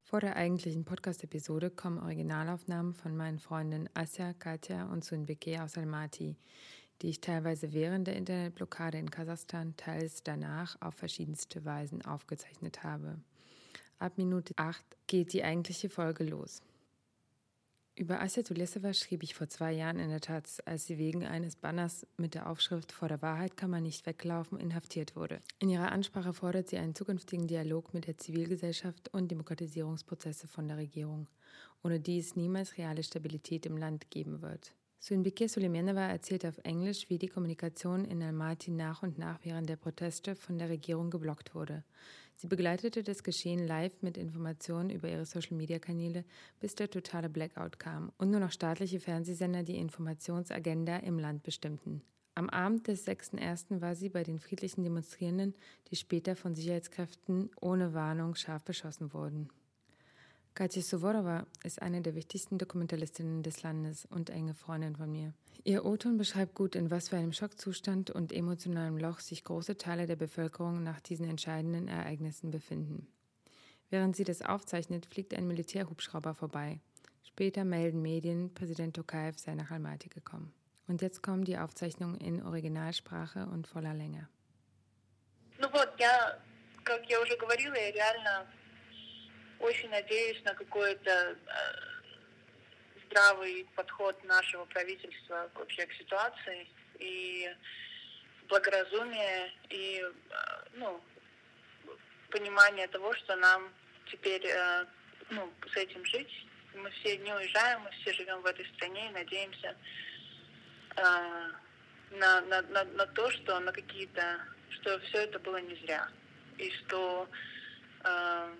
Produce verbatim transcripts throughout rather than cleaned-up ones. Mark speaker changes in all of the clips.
Speaker 1: Vor der eigentlichen Podcast-Episode kommen Originalaufnahmen von meinen Freundinnen Asya, Katja und Sunbike aus Almaty, die ich teilweise während der Internetblockade in Kasachstan, teils danach auf verschiedenste Weisen aufgezeichnet habe. Ab Minute acht geht die eigentliche Folge los. Über Asya Tulesova schrieb ich vor zwei Jahren in der Taz, als sie wegen eines Banners mit der Aufschrift „Vor der Wahrheit kann man nicht weglaufen" inhaftiert wurde. In ihrer Ansprache fordert sie einen zukünftigen Dialog mit der Zivilgesellschaft und Demokratisierungsprozesse von der Regierung, ohne die es niemals reale Stabilität im Land geben wird. Sunbike Suleimanova erzählt auf Englisch, wie die Kommunikation in Almaty nach und nach während der Proteste von der Regierung geblockt wurde. Sie begleitete das Geschehen live mit Informationen über ihre Social-Media-Kanäle, bis der totale Blackout kam und nur noch staatliche Fernsehsender die Informationsagenda im Land bestimmten. Am Abend des sechsten ersten war sie bei den friedlichen Demonstrierenden, die später von Sicherheitskräften ohne Warnung scharf beschossen wurden. Katja Suvorova ist eine der wichtigsten Dokumentalistinnen des Landes und enge Freundin von mir. Ihr O-Ton beschreibt gut, in was für einem Schockzustand und emotionalem Loch sich große Teile der Bevölkerung nach diesen entscheidenden Ereignissen befinden. Während sie das aufzeichnet, fliegt ein Militärhubschrauber vorbei. Später melden Medien, Präsident Tokayev sei nach Almaty gekommen. Und jetzt kommen die Aufzeichnungen in Originalsprache und voller Länge.
Speaker 2: Ну вот, я, как я уже говорила, я реально очень надеюсь на какой-то э, здравый подход нашего правительства вообще к ситуации и благоразумие и э, ну, понимание того, что нам теперь э, ну, с этим жить. Мы все не уезжаем, мы все живем в этой стране и надеемся э, на, на, на, на то, что на какие-то, что все это было не зря и что э,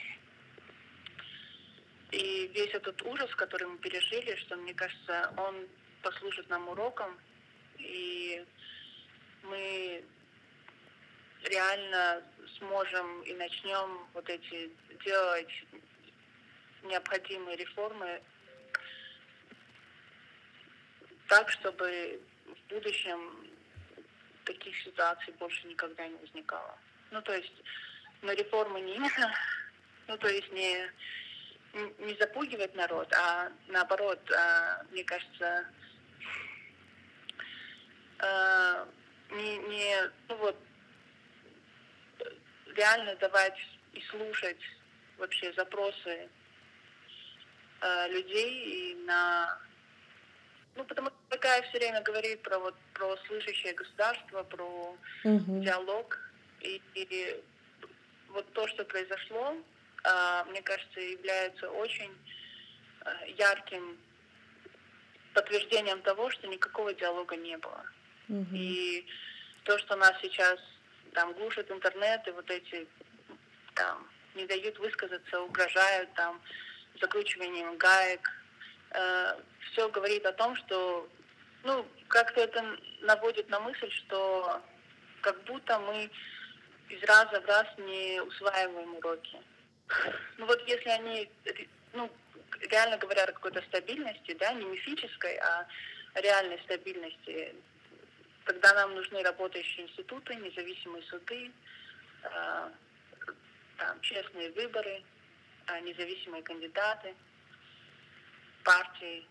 Speaker 2: И весь этот ужас, который мы пережили, что, мне кажется, он послужит нам уроком, и мы реально сможем и начнем вот эти делать необходимые реформы так, чтобы в будущем таких ситуаций больше никогда не возникало. Ну, то есть, но реформы не именно, ну, то есть не... не запугивать народ, а наоборот, мне кажется, не, не ну вот, реально давать и слушать вообще запросы людей и на... Ну, потому что такая все время говорит про, вот, про слышащее государство, про mm-hmm. диалог. И, и вот то, что произошло, мне кажется, является очень ярким подтверждением того, что никакого диалога не было. Mm-hmm. И то, что нас сейчас там глушит интернет, и вот эти там не дают высказаться, угрожают там закручиванием гаек, э, все говорит о том, что ну, как-то это наводит на мысль, что как будто мы из раза в раз не усваиваем уроки. Ну вот если они, ну, реально говорят о какой-то стабильности, да, не мифической, а реальной стабильности, тогда нам нужны работающие институты, независимые суды, э, там, честные выборы, э, независимые кандидаты, партии.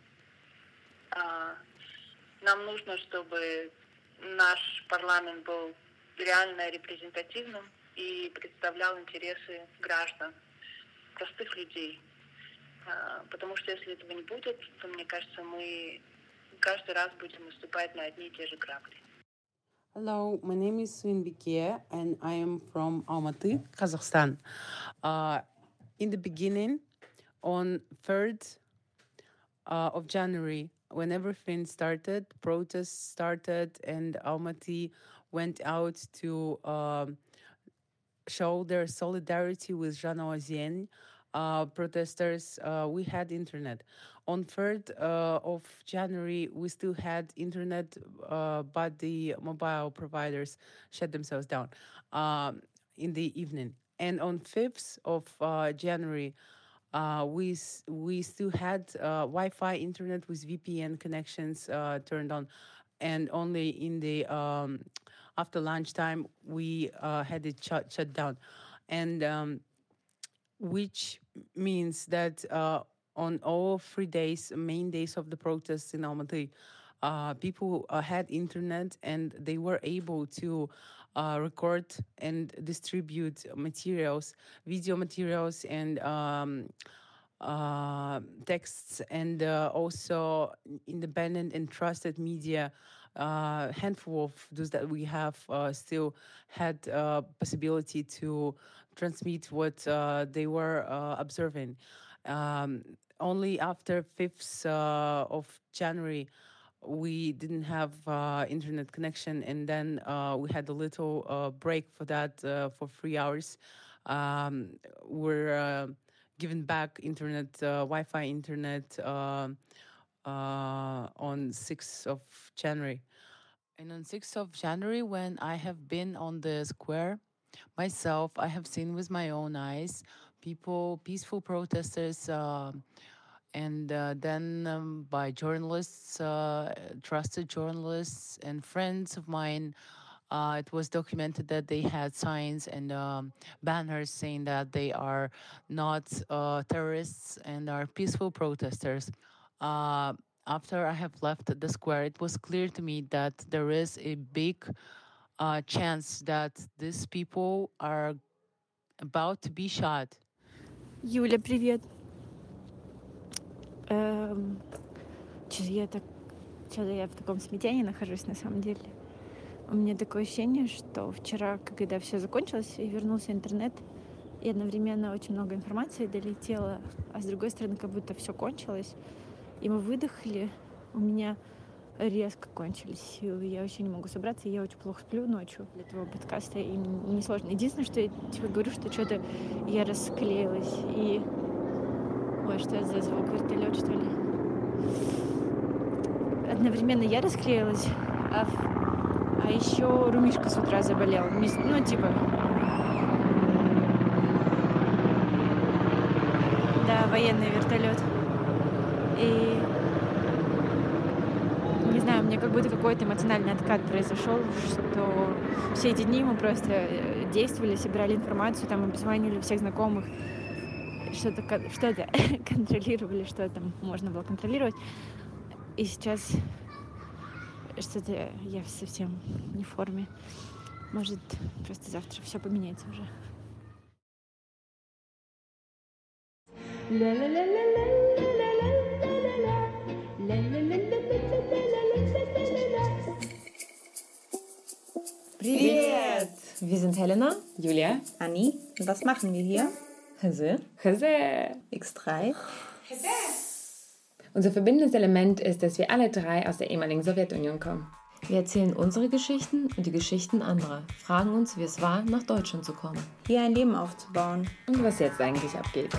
Speaker 2: Э, нам нужно, чтобы наш парламент был реально репрезентативным и представлял интересы граждан, простых людей. Потому что если этого не будет, то, мне кажется, мы каждый раз будем наступать на одни и те же грабли.
Speaker 3: Hello, my name is Sunbike and I am from Almaty, Kazakhstan. Uh, in the beginning, on third uh, of January, when everything started, protests started and Almaty went out to uh, show their solidarity with Jean Ozień, uh, protesters, uh, we had internet. On third uh, of January, we still had internet, uh, but the mobile providers shut themselves down um, in the evening. And on fifth of uh, January, uh, we we still had uh, Wi-Fi internet with V P N connections uh, turned on, and only in the um, after lunchtime we uh, had it shut shut down, and um, which means that uh, on all three days, main days of the protests in Almaty, uh, people uh, had internet and they were able to uh, record and distribute materials, video materials, and um, uh, texts, and uh, also independent and trusted media. Uh, handful of those that we have uh, still had uh, possibility to transmit what uh, they were uh, observing. Um, only after fifth uh, of January, we didn't have uh, internet connection, and then uh, we had a little uh, break for that uh, for three hours. Um, we're uh, given back internet, uh, Wi-Fi internet uh, uh, on sixth of January. And on sixth of January, when I have been on the square myself, I have seen with my own eyes people, peaceful protesters, uh, and uh, then um, by journalists, uh, trusted journalists and friends of mine, uh, it was documented that they had signs and um, banners saying that they are not uh, terrorists and are peaceful protesters. Uh, after I have left the square, it was clear to me that there is a big uh, chance that these people are about to be shot.
Speaker 4: Юля, привет. Эм, Что-то я так, что-то я в таком смятении нахожусь на самом деле. У меня такое ощущение, что вчера, когда все закончилось и вернулся интернет, и одновременно очень много информации долетело, а с другой стороны, как будто все кончилось, и мы выдохли, у меня резко кончились силы, я вообще не могу собраться, и я очень плохо сплю ночью для этого подкаста, и мне сложно. Единственное, что я тебе говорю, что что-то я расклеилась, и... Ой, что это за звук? Вертолет, что ли? Одновременно я расклеилась, а, в... а еще Румишка с утра заболел. Ну, типа... Да, военный вертолет. И... Не знаю, у меня как будто какой-то эмоциональный откат произошел, что все эти дни мы просто действовали, собирали информацию, там обзванивали всех знакомых, что-то, что-то контролировали, что там можно было контролировать. И сейчас что-то я совсем не в форме. Может, просто завтра все поменяется уже.
Speaker 5: Привет! Wir sind Helena,
Speaker 1: Julia,
Speaker 5: Anni. Und was machen wir hier?
Speaker 1: Hese, Hese.
Speaker 5: X drei.
Speaker 1: Unser verbindendes Element ist, dass wir alle drei aus der ehemaligen Sowjetunion kommen.
Speaker 5: Wir erzählen unsere Geschichten und die Geschichten anderer, fragen uns, wie es war, nach Deutschland zu kommen.
Speaker 4: Hier ein Leben aufzubauen.
Speaker 1: Und was jetzt eigentlich abgeht.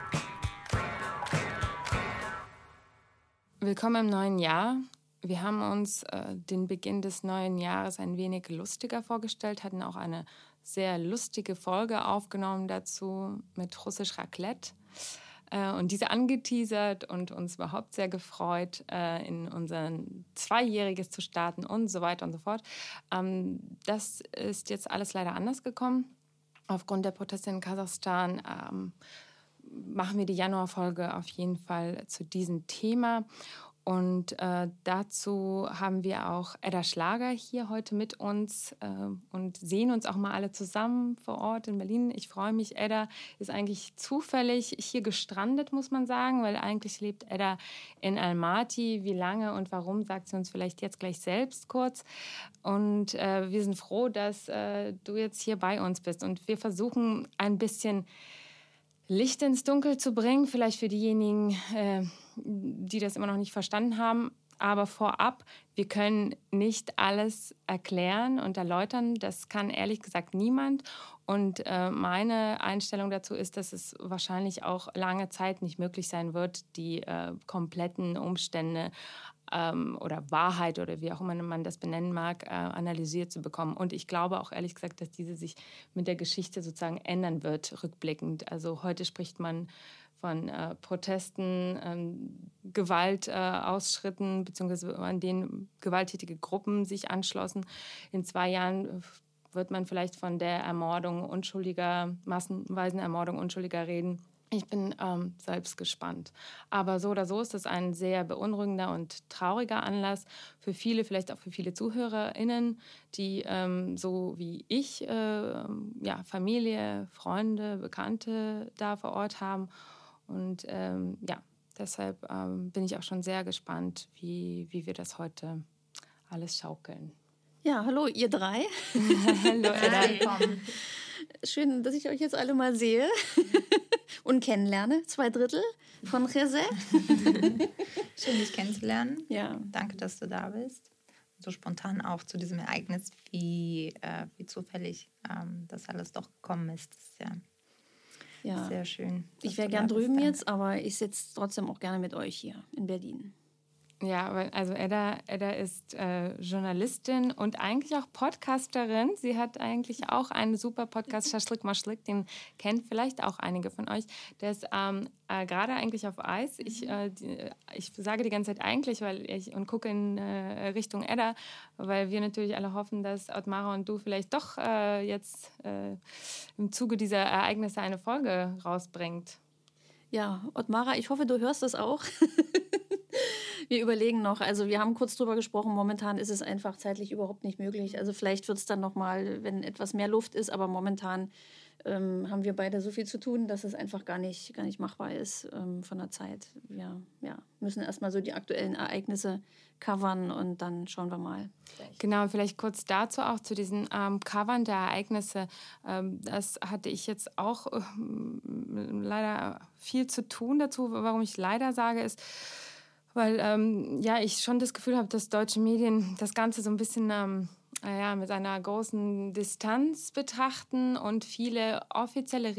Speaker 1: Willkommen im neuen Jahr. Wir haben uns äh, den Beginn des neuen Jahres ein wenig lustiger vorgestellt, hatten auch eine sehr lustige Folge aufgenommen dazu mit Russisch Raclette äh, und diese angeteasert und uns überhaupt sehr gefreut, äh, in unser Zweijähriges zu starten und so weiter und so fort. Ähm, das ist jetzt alles leider anders gekommen. Aufgrund der Proteste in Kasachstan ähm, machen wir die Januarfolge auf jeden Fall zu diesem Thema. Und äh, dazu haben wir auch Edda Schlager hier heute mit uns äh, und sehen uns auch mal alle zusammen vor Ort in Berlin. Ich freue mich. Edda ist eigentlich zufällig hier gestrandet, muss man sagen, weil eigentlich lebt Edda in Almaty. Wie lange und warum, sagt sie uns vielleicht jetzt gleich selbst kurz. Und äh, wir sind froh, dass äh, du jetzt hier bei uns bist. Und wir versuchen ein bisschen Licht ins Dunkel zu bringen, vielleicht für diejenigen, äh, die das immer noch nicht verstanden haben. Aber vorab, wir können nicht alles erklären und erläutern. Das kann ehrlich gesagt niemand. Und äh, meine Einstellung dazu ist, dass es wahrscheinlich auch lange Zeit nicht möglich sein wird, die äh, kompletten Umstände ähm, oder Wahrheit oder wie auch immer man das benennen mag, äh, analysiert zu bekommen. Und ich glaube auch ehrlich gesagt, dass diese sich mit der Geschichte sozusagen ändern wird, rückblickend. Also heute spricht man von äh, Protesten, ähm, Gewaltausschritten, äh, beziehungsweise an denen gewalttätige Gruppen sich anschlossen. In zwei Jahren wird man vielleicht von der Ermordung unschuldiger, massenweisen Ermordung Unschuldiger reden. Ich bin ähm, selbst gespannt. Aber so oder so ist das ein sehr beunruhigender und trauriger Anlass für viele, vielleicht auch für viele ZuhörerInnen, die ähm, so wie ich äh, ja, Familie, Freunde, Bekannte da vor Ort haben. Und ähm, ja, deshalb ähm, bin ich auch schon sehr gespannt, wie, wie wir das heute alles schaukeln.
Speaker 6: Ja, hallo ihr drei.
Speaker 1: Hallo Edda.
Speaker 6: Schön, dass ich euch jetzt alle mal sehe und kennenlerne. Zwei Drittel von José.
Speaker 7: Schön, dich kennenzulernen.
Speaker 6: Ja.
Speaker 7: Danke, dass du da bist. So spontan auch zu diesem Ereignis, wie, äh, wie zufällig ähm, das alles doch gekommen ist. Das ist ja,
Speaker 6: ja.
Speaker 7: sehr schön.
Speaker 6: Ich wäre gern drüben jetzt, aber ich sitze trotzdem auch gerne mit euch hier in Berlin.
Speaker 1: Ja, also Edda, Edda ist äh, Journalistin und eigentlich auch Podcasterin. Sie hat eigentlich auch einen super Podcast, Schaschlik Maschlik, den kennt vielleicht auch einige von euch. Der ist ähm, äh, gerade eigentlich auf Eis. Ich, äh, die, ich sage die ganze Zeit eigentlich weil ich, und gucke in äh, Richtung Edda, weil wir natürlich alle hoffen, dass Ottmara und du vielleicht doch äh, jetzt äh, im Zuge dieser Ereignisse eine Folge rausbringt.
Speaker 6: Ja, Ottmara, ich hoffe, du hörst das auch. Wir überlegen noch, also wir haben kurz drüber gesprochen, momentan ist es einfach zeitlich überhaupt nicht möglich. Also vielleicht wird es dann nochmal, wenn etwas mehr Luft ist, aber momentan ähm, haben wir beide so viel zu tun, dass es einfach gar nicht, gar nicht machbar ist ähm, von der Zeit. Wir ja, müssen erstmal so die aktuellen Ereignisse covern und dann schauen wir mal.
Speaker 1: Genau, vielleicht kurz dazu auch zu diesen ähm, Covern der Ereignisse. Ähm, das hatte ich jetzt auch ähm, leider viel zu tun dazu. Warum ich leider sage, ist, weil ähm, ja, ich schon das Gefühl habe, dass deutsche Medien das Ganze so ein bisschen ähm, ja, mit einer großen Distanz betrachten und viele offizielle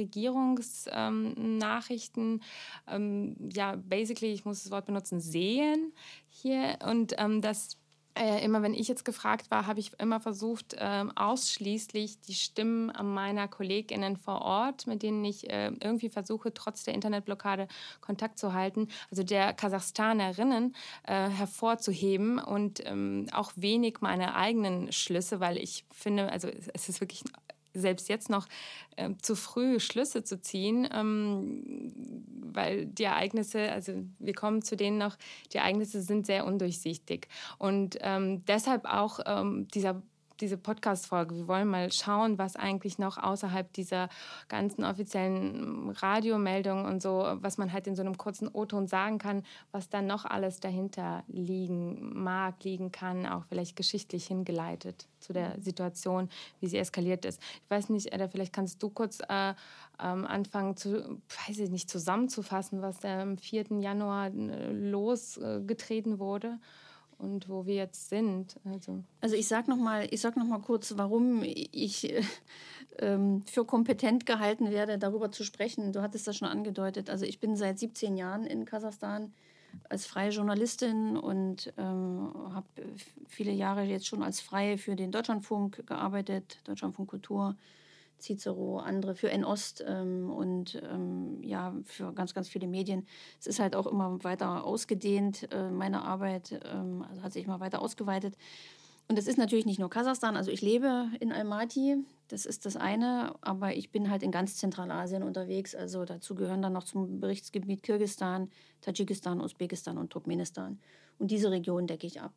Speaker 1: Regierungsnachrichten, ähm, ähm, ja, basically, ich muss das Wort benutzen, sehen hier. Und ähm, das Äh, immer wenn ich jetzt gefragt war, habe ich immer versucht, ähm, ausschließlich die Stimmen meiner KollegInnen vor Ort, mit denen ich äh, irgendwie versuche, trotz der Internetblockade Kontakt zu halten, also der Kasachstanerinnen äh, hervorzuheben und ähm, auch wenig meine eigenen Schlüsse, weil ich finde, also es ist wirklich selbst jetzt noch äh, zu früh Schlüsse zu ziehen, ähm, weil die Ereignisse, also wir kommen zu denen noch, die Ereignisse sind sehr undurchsichtig. Und ähm, deshalb auch ähm, dieser diese Podcast-Folge. Wir wollen mal schauen, was eigentlich noch außerhalb dieser ganzen offiziellen Radiomeldungen und so, was man halt in so einem kurzen O-Ton sagen kann, was dann noch alles dahinter liegen mag, liegen kann, auch vielleicht geschichtlich hingeleitet zu der Situation, wie sie eskaliert ist. Ich weiß nicht, Edda, vielleicht kannst du kurz äh, ähm, anfangen, zu, weiß ich nicht, zusammenzufassen, was da am vierten Januar äh, losgetreten wurde. Und wo wir jetzt sind. Also,
Speaker 6: also ich sage noch mal, ich sag noch mal kurz, warum ich äh, ähm, für kompetent gehalten werde, darüber zu sprechen. Du hattest das schon angedeutet. Also ich bin seit siebzehn Jahren in Kasachstan als freie Journalistin und ähm, habe viele Jahre jetzt schon als Freie für den Deutschlandfunk gearbeitet, Deutschlandfunk Kultur, Cicero, andere für N-Ost ähm, und ähm, ja, für ganz, ganz viele Medien. Es ist halt auch immer weiter ausgedehnt, äh, meine Arbeit, ähm, also hat sich immer weiter ausgeweitet. Und das ist natürlich nicht nur Kasachstan, also ich lebe in Almaty, das ist das eine, aber ich bin halt in ganz Zentralasien unterwegs, also dazu gehören dann noch zum Berichtsgebiet Kirgisistan, Tadschikistan, Usbekistan und Turkmenistan. Und diese Region decke ich ab.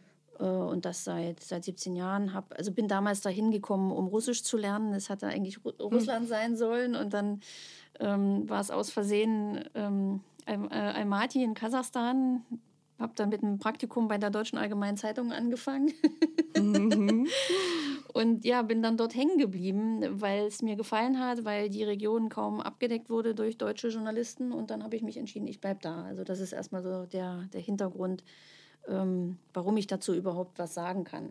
Speaker 6: Und das seit, seit siebzehn Jahren. Hab, also bin damals dahin gekommen, um Russisch zu lernen. Das hatte eigentlich Ru- Russland sein sollen. Und dann ähm, war es aus Versehen ähm, Almaty in Kasachstan. Habe dann mit einem Praktikum bei der Deutschen Allgemeinen Zeitung angefangen. Mhm. Und ja, bin dann dort hängen geblieben, weil es mir gefallen hat, weil die Region kaum abgedeckt wurde durch deutsche Journalisten. Und dann habe ich mich entschieden, ich bleibe da. Also das ist erstmal so der, der Hintergrund, Ähm, warum ich dazu überhaupt was sagen kann.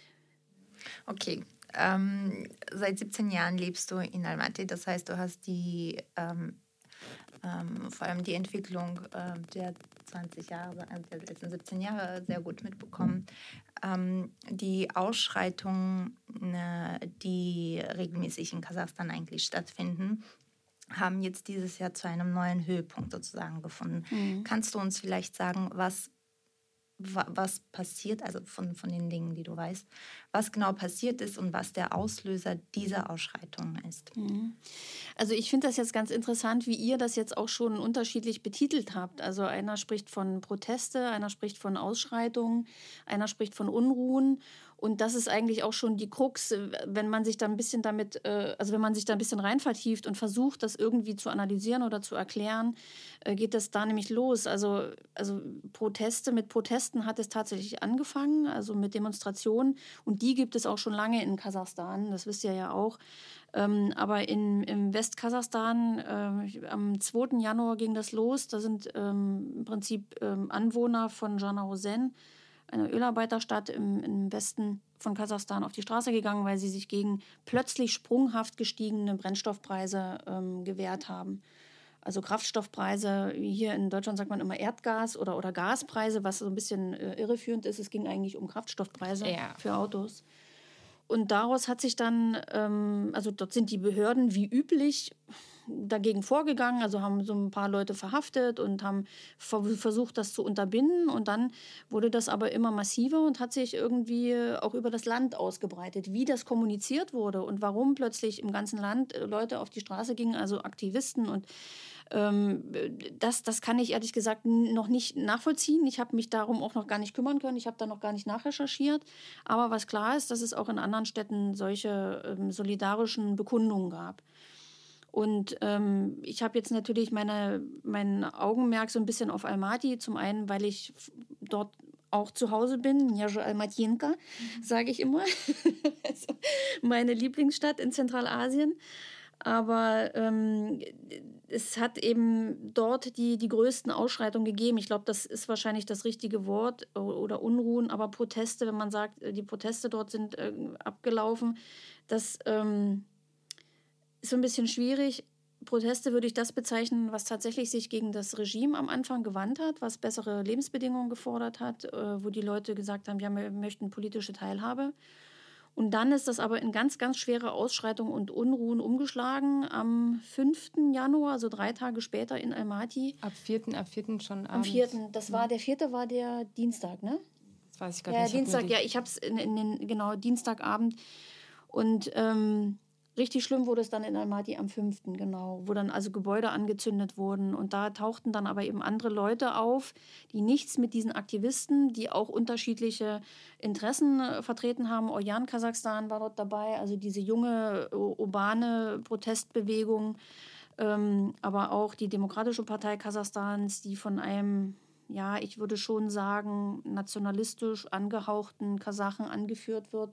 Speaker 7: Okay, ähm, seit siebzehn Jahren lebst du in Almaty, das heißt, du hast die, ähm, ähm, vor allem die Entwicklung äh, der zwanzig Jahre, der letzten siebzehn Jahre sehr gut mitbekommen. Ähm, die Ausschreitungen, äh, die regelmäßig in Kasachstan eigentlich stattfinden, haben jetzt dieses Jahr zu einem neuen Höhepunkt sozusagen gefunden. Mhm. Kannst du uns vielleicht sagen, was was passiert, also von, von den Dingen, die du weißt, was genau passiert ist und was der Auslöser dieser Ausschreitungen ist.
Speaker 6: Also ich finde das jetzt ganz interessant, wie ihr das jetzt auch schon unterschiedlich betitelt habt. Also einer spricht von Proteste, einer spricht von Ausschreitungen, einer spricht von Unruhen. Und das ist eigentlich auch schon die Krux, wenn man sich da ein bisschen damit, also wenn man sich da ein bisschen rein vertieft und versucht, das irgendwie zu analysieren oder zu erklären, geht das da nämlich los. Also, also Proteste, mit Protesten hat es tatsächlich angefangen, also mit Demonstrationen. Und die gibt es auch schon lange in Kasachstan, das wisst ihr ja auch. Ähm, aber in, im Westkasachstan, äh, am zweiten Januar ging das los. Da sind ähm, im Prinzip ähm, Anwohner von Janaozen, einer Ölarbeiterstadt im, im Westen von Kasachstan, auf die Straße gegangen, weil sie sich gegen plötzlich sprunghaft gestiegene Brennstoffpreise ähm, gewehrt haben. Also Kraftstoffpreise, hier in Deutschland sagt man immer Erdgas- oder, oder Gaspreise, was so ein bisschen äh, irreführend ist. Es ging eigentlich um Kraftstoffpreise ja. für Autos. Und daraus hat sich dann, ähm, also dort sind die Behörden wie üblich dagegen vorgegangen, also haben so ein paar Leute verhaftet und haben versucht, das zu unterbinden. Und dann wurde das aber immer massiver und hat sich irgendwie auch über das Land ausgebreitet. Wie das kommuniziert wurde und warum plötzlich im ganzen Land Leute auf die Straße gingen, also Aktivisten und ähm, das, das kann ich ehrlich gesagt noch nicht nachvollziehen. Ich habe mich darum auch noch gar nicht kümmern können. Ich habe da noch gar nicht nachrecherchiert. Aber was klar ist, dass es auch in anderen Städten solche ähm, solidarischen Bekundungen gab. Und ähm, ich habe jetzt natürlich meine, mein Augenmerk so ein bisschen auf Almaty. Zum einen, weil ich dort auch zu Hause bin. Njaja Almatyenka, mhm. sage ich immer. Also meine Lieblingsstadt in Zentralasien. Aber ähm, es hat eben dort die, die größten Ausschreitungen gegeben. Ich glaube, das ist wahrscheinlich das richtige Wort oder Unruhen. Aber Proteste, wenn man sagt, die Proteste dort sind äh, abgelaufen, das ähm, ist so ein bisschen schwierig. Proteste würde ich das bezeichnen, was tatsächlich sich gegen das Regime am Anfang gewandt hat, was bessere Lebensbedingungen gefordert hat, äh, wo die Leute gesagt haben, ja, wir möchten politische Teilhabe. Und dann ist das aber in ganz, ganz schwere Ausschreitungen und Unruhen umgeschlagen. Am fünften Januar, also drei Tage später in Almaty.
Speaker 1: Ab vierten Ab vierten schon abends.
Speaker 6: Am vierten Das war, der vierte war der Dienstag, ne?
Speaker 1: Das weiß ich gar
Speaker 6: ja,
Speaker 1: nicht.
Speaker 6: Dienstag, ja, ich habe es in, in den, genau, Dienstagabend. Und ähm, richtig schlimm wurde es dann in Almaty am fünften genau, wo dann also Gebäude angezündet wurden. Und da tauchten dann aber eben andere Leute auf, die nichts mit diesen Aktivisten, die auch unterschiedliche Interessen äh, vertreten haben. Orjan Kasachstan war dort dabei, also diese junge, urbane Protestbewegung. Ähm, aber auch die Demokratische Partei Kasachstans, die von einem, ja, ich würde schon sagen, nationalistisch angehauchten Kasachen angeführt wird.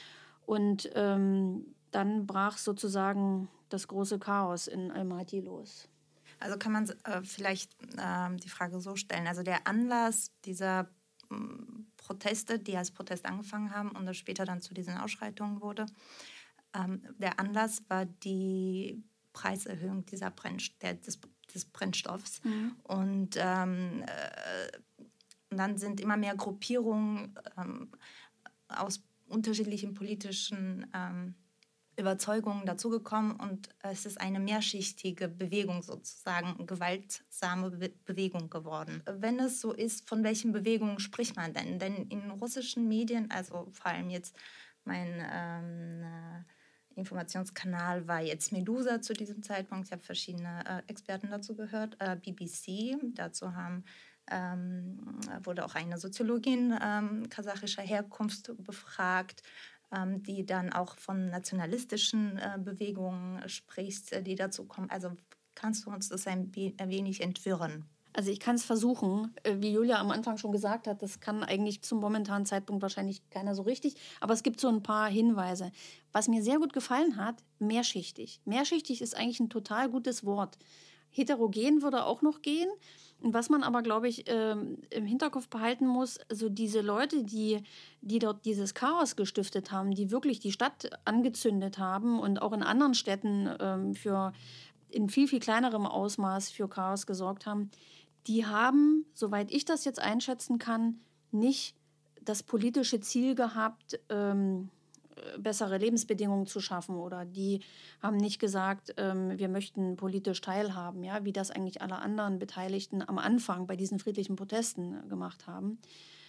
Speaker 6: Und ähm, dann brach sozusagen das große Chaos in Almaty los.
Speaker 7: Also kann man äh, vielleicht äh, die Frage so stellen, also der Anlass dieser m, Proteste, die als Protest angefangen haben und das später dann zu diesen Ausschreitungen wurde, ähm, der Anlass war die Preiserhöhung dieser Brennst- der, des, des Brennstoffs. Mhm. Und ähm, äh, dann sind immer mehr Gruppierungen ähm, aus unterschiedlichen politischen ähm, Überzeugungen dazugekommen und es ist eine mehrschichtige Bewegung sozusagen, gewaltsame Be- Bewegung geworden. Wenn es so ist, von welchen Bewegungen spricht man denn? Denn in russischen Medien, also vor allem jetzt mein ähm, äh, Informationskanal war jetzt Medusa zu diesem Zeitpunkt, ich habe verschiedene äh, Experten dazu gehört, äh, B B C, dazu haben ähm, wurde auch eine Soziologin ähm, kasachischer Herkunft befragt, die dann auch von nationalistischen äh, Bewegungen spricht, die dazu kommen. Also kannst du uns das ein, ein wenig entwirren?
Speaker 6: Also ich kann es versuchen. Wie Julia am Anfang schon gesagt hat, das kann eigentlich zum momentanen Zeitpunkt wahrscheinlich keiner so richtig. Aber es gibt so ein paar Hinweise. Was mir sehr gut gefallen hat, mehrschichtig. Mehrschichtig ist eigentlich ein total gutes Wort. Heterogen würde auch noch gehen. Und was man aber, glaube ich, ähm, im Hinterkopf behalten muss, also diese Leute, die, die dort dieses Chaos gestiftet haben, die wirklich die Stadt angezündet haben und auch in anderen Städten ähm, für in viel, viel kleinerem Ausmaß für Chaos gesorgt haben, die haben, soweit ich das jetzt einschätzen kann, nicht das politische Ziel gehabt, ähm, bessere Lebensbedingungen zu schaffen, oder die haben nicht gesagt, ähm, wir möchten politisch teilhaben, ja, wie das eigentlich alle anderen Beteiligten am Anfang bei diesen friedlichen Protesten gemacht haben.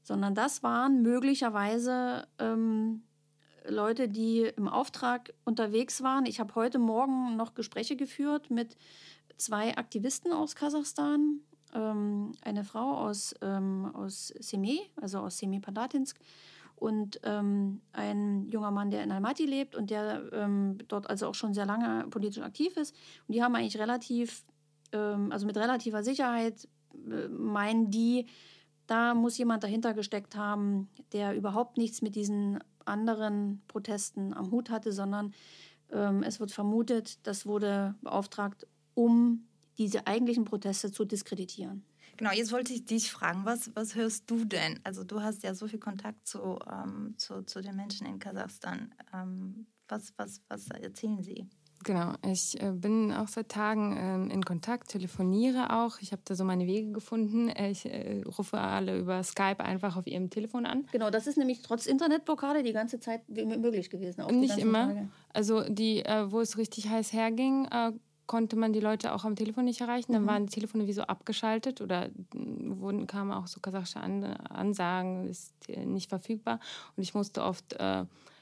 Speaker 6: sondern das waren möglicherweise ähm, Leute, die im Auftrag unterwegs waren. Ich habe heute Morgen noch Gespräche geführt mit zwei Aktivisten aus Kasachstan, ähm, eine Frau aus, ähm, aus Semey, also aus Semipalatinsk, und ähm, ein junger Mann, der in Almaty lebt und der ähm, dort also auch schon sehr lange politisch aktiv ist. Und die haben eigentlich relativ, ähm, also mit relativer Sicherheit äh, meinen die, da muss jemand dahinter gesteckt haben, der überhaupt nichts mit diesen anderen Protesten am Hut hatte, sondern ähm, es wird vermutet, das wurde beauftragt, um diese eigentlichen Proteste zu diskreditieren.
Speaker 7: Genau, jetzt wollte ich dich fragen, was, was hörst du denn? Also du hast ja so viel Kontakt zu, ähm, zu, zu den Menschen in Kasachstan. Ähm, was, was, was erzählen sie?
Speaker 1: Genau, ich äh, bin auch seit Tagen ähm, in Kontakt, telefoniere auch. Ich habe da so meine Wege gefunden. Ich äh, rufe alle über Skype einfach auf ihrem Telefon an.
Speaker 6: Genau, das ist nämlich trotz Internetblockade die ganze Zeit möglich gewesen. Auch
Speaker 1: Nicht
Speaker 6: die
Speaker 1: immer.
Speaker 6: Tage.
Speaker 1: Also die, äh, wo es richtig heiß herging, äh, konnte man die Leute auch am Telefon nicht erreichen. Dann mhm. waren die Telefone wie so abgeschaltet oder wurden, kamen auch so kasachische An- Ansagen, ist nicht verfügbar. Und ich musste oft äh,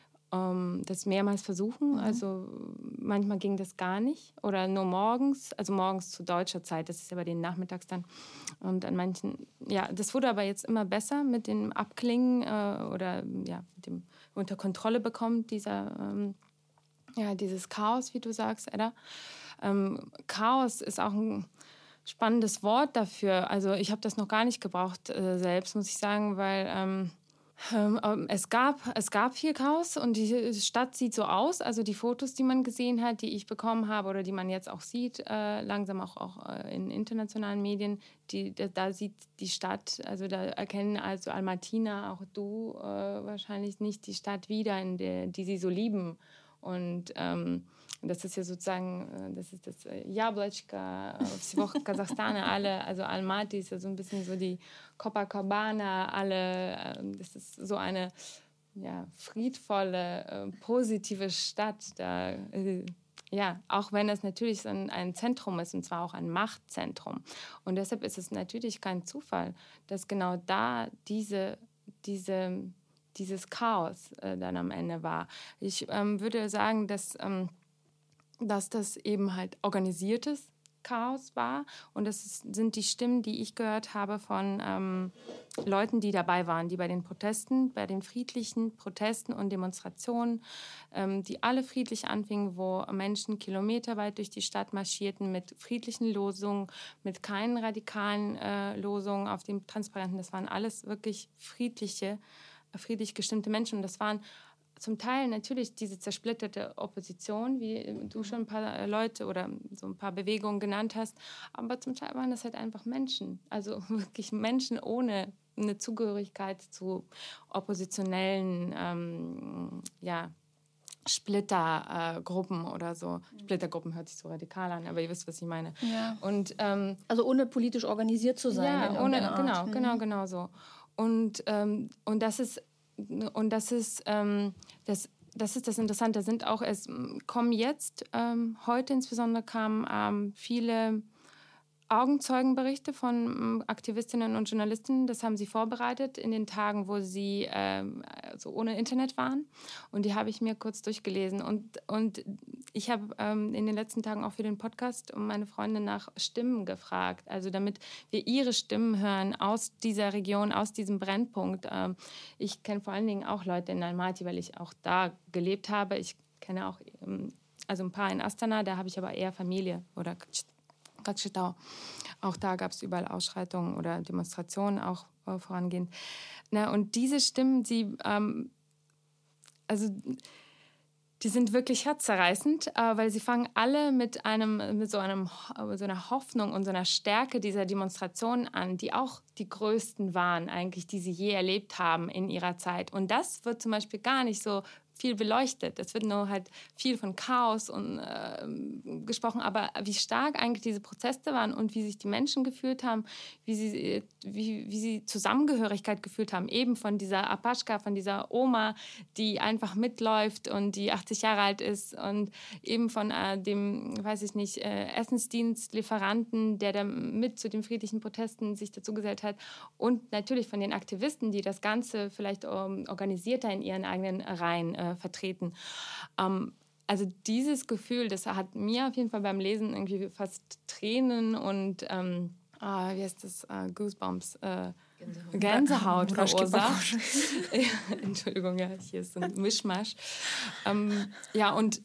Speaker 1: ähm, das mehrmals versuchen. Mhm. Also manchmal ging das gar nicht oder nur morgens, also morgens zu deutscher Zeit, das ist ja bei den Nachmittags dann. Und an manchen, ja, das wurde aber jetzt immer besser mit dem Abklingen äh, oder ja, mit dem unter Kontrolle bekommt, dieser, ähm, ja, dieses Chaos, wie du sagst, Edda. Ähm, Chaos ist auch ein spannendes Wort dafür. Also ich habe das noch gar nicht gebraucht äh, selbst, muss ich sagen, weil ähm, ähm, es gab, es gab viel Chaos und die Stadt sieht so aus. Also die Fotos, die man gesehen hat, die ich bekommen habe oder die man jetzt auch sieht, äh, langsam auch, auch äh, in internationalen Medien, die, da, da sieht die Stadt, also da erkennen also Almatina, auch du äh, wahrscheinlich nicht die Stadt wieder, in der, die sie so lieben. Und ähm, das ist ja sozusagen, das ist das Jablotchka, всего Kasachstana, alle, also Almaty ist ja so ein bisschen so die Copacabana, alle, das ist so eine ja, friedvolle, positive Stadt. Da, ja, auch wenn es natürlich ein, ein Zentrum ist, und zwar auch ein Machtzentrum. Und deshalb ist es natürlich kein Zufall, dass genau da diese, diese dieses Chaos äh, dann am Ende war. Ich ähm, würde sagen, dass, ähm, dass das eben halt organisiertes Chaos war und das ist, sind die Stimmen, die ich gehört habe von ähm, Leuten, die dabei waren, die bei den Protesten, bei den friedlichen Protesten und Demonstrationen, ähm, die alle friedlich anfingen, wo Menschen kilometerweit durch die Stadt marschierten mit friedlichen Losungen, mit keinen radikalen äh, Losungen auf den Transparenten. Das waren alles wirklich friedliche friedlich gestimmte Menschen. Und das waren zum Teil natürlich diese zersplitterte Opposition, wie du schon ein paar Leute oder so ein paar Bewegungen genannt hast. Aber zum Teil waren das halt einfach Menschen. Also wirklich Menschen ohne eine Zugehörigkeit zu oppositionellen ähm, ja, Splittergruppen äh, oder so. Splittergruppen hört sich so radikal an, aber ihr wisst, was ich meine.
Speaker 6: Ja.
Speaker 1: Und, ähm,
Speaker 6: also ohne politisch organisiert zu sein.
Speaker 1: Ja, ohne, genau,
Speaker 6: Art.
Speaker 1: genau, genau so. Und, ähm, und das ist, und das ist, ähm, das, das ist das Interessante. Sind auch, es kommen jetzt, ähm, heute insbesondere kamen ähm, viele Augenzeugenberichte von ähm, Aktivistinnen und Journalisten. Das haben sie vorbereitet in den Tagen, wo sie ähm, also ohne Internet waren. Und die habe ich mir kurz durchgelesen. Und, und ich habe ähm, in den letzten Tagen auch für den Podcast meine Freundin nach Stimmen gefragt. Also damit wir ihre Stimmen hören aus dieser Region, aus diesem Brennpunkt. Ähm, ich kenne vor allen Dingen auch Leute in Almaty, weil ich auch da gelebt habe. Ich kenne auch ähm, also ein paar in Astana, da habe ich aber eher Familie oder auch da gab es überall Ausschreitungen oder Demonstrationen auch äh, vorangehend. Na, und diese Stimmen, sie, ähm, also die sind wirklich herzzerreißend, äh, weil sie fangen alle mit einem, mit so einem, so einer Hoffnung und so einer Stärke dieser Demonstrationen an, die auch die größten waren eigentlich, die sie je erlebt haben in ihrer Zeit. Und das wird zum Beispiel gar nicht so viel beleuchtet. Es wird nur halt viel von Chaos und, äh, gesprochen, aber wie stark eigentlich diese Proteste waren und wie sich die Menschen gefühlt haben, wie sie, wie, wie sie Zusammengehörigkeit gefühlt haben, eben von dieser Apaschka, von dieser Oma, die einfach mitläuft und die achtzig Jahre alt ist und eben von äh, dem, weiß ich nicht, äh, Essensdienstlieferanten, der da mit zu den friedlichen Protesten sich dazu gesellt hat und natürlich von den Aktivisten, die das Ganze vielleicht ähm, organisierter in ihren eigenen Reihen äh, vertreten. Ähm, also dieses Gefühl, das hat mir auf jeden Fall beim Lesen irgendwie fast Tränen und ähm, ah, wie heißt das, uh, Goosebumps, äh, Gänsehaut, Gänsehaut verursacht. Ja, Entschuldigung, ja, hier ist ein Mischmasch. ähm, ja, und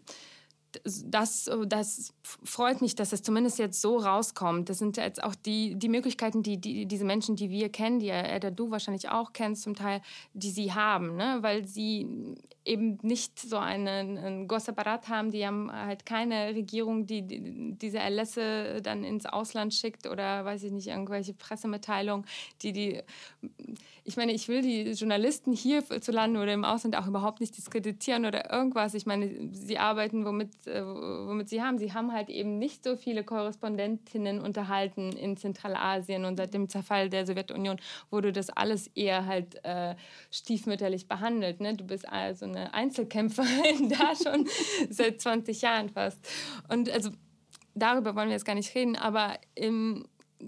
Speaker 1: Das, das freut mich, dass es zumindest jetzt so rauskommt. Das sind jetzt auch die, die Möglichkeiten, die, die diese Menschen, die wir kennen, die Edda, du wahrscheinlich auch kennst zum Teil, die sie haben, ne? Weil sie eben nicht so einen, einen Gosapparat haben, die haben halt keine Regierung, die, die diese Erlässe dann ins Ausland schickt oder, weiß ich nicht, irgendwelche Pressemitteilungen, die die... Ich meine, ich will die Journalisten hierzulande oder im Ausland auch überhaupt nicht diskreditieren oder irgendwas. Ich meine, sie arbeiten, womit, äh, womit sie haben. Sie haben halt eben nicht so viele Korrespondentinnen unterhalten in Zentralasien und seit dem Zerfall der Sowjetunion wurde das alles eher halt äh, stiefmütterlich behandelt. Ne? Du bist also eine Einzelkämpferin da schon seit zwanzig Jahren fast. Und also darüber wollen wir jetzt gar nicht reden, aber im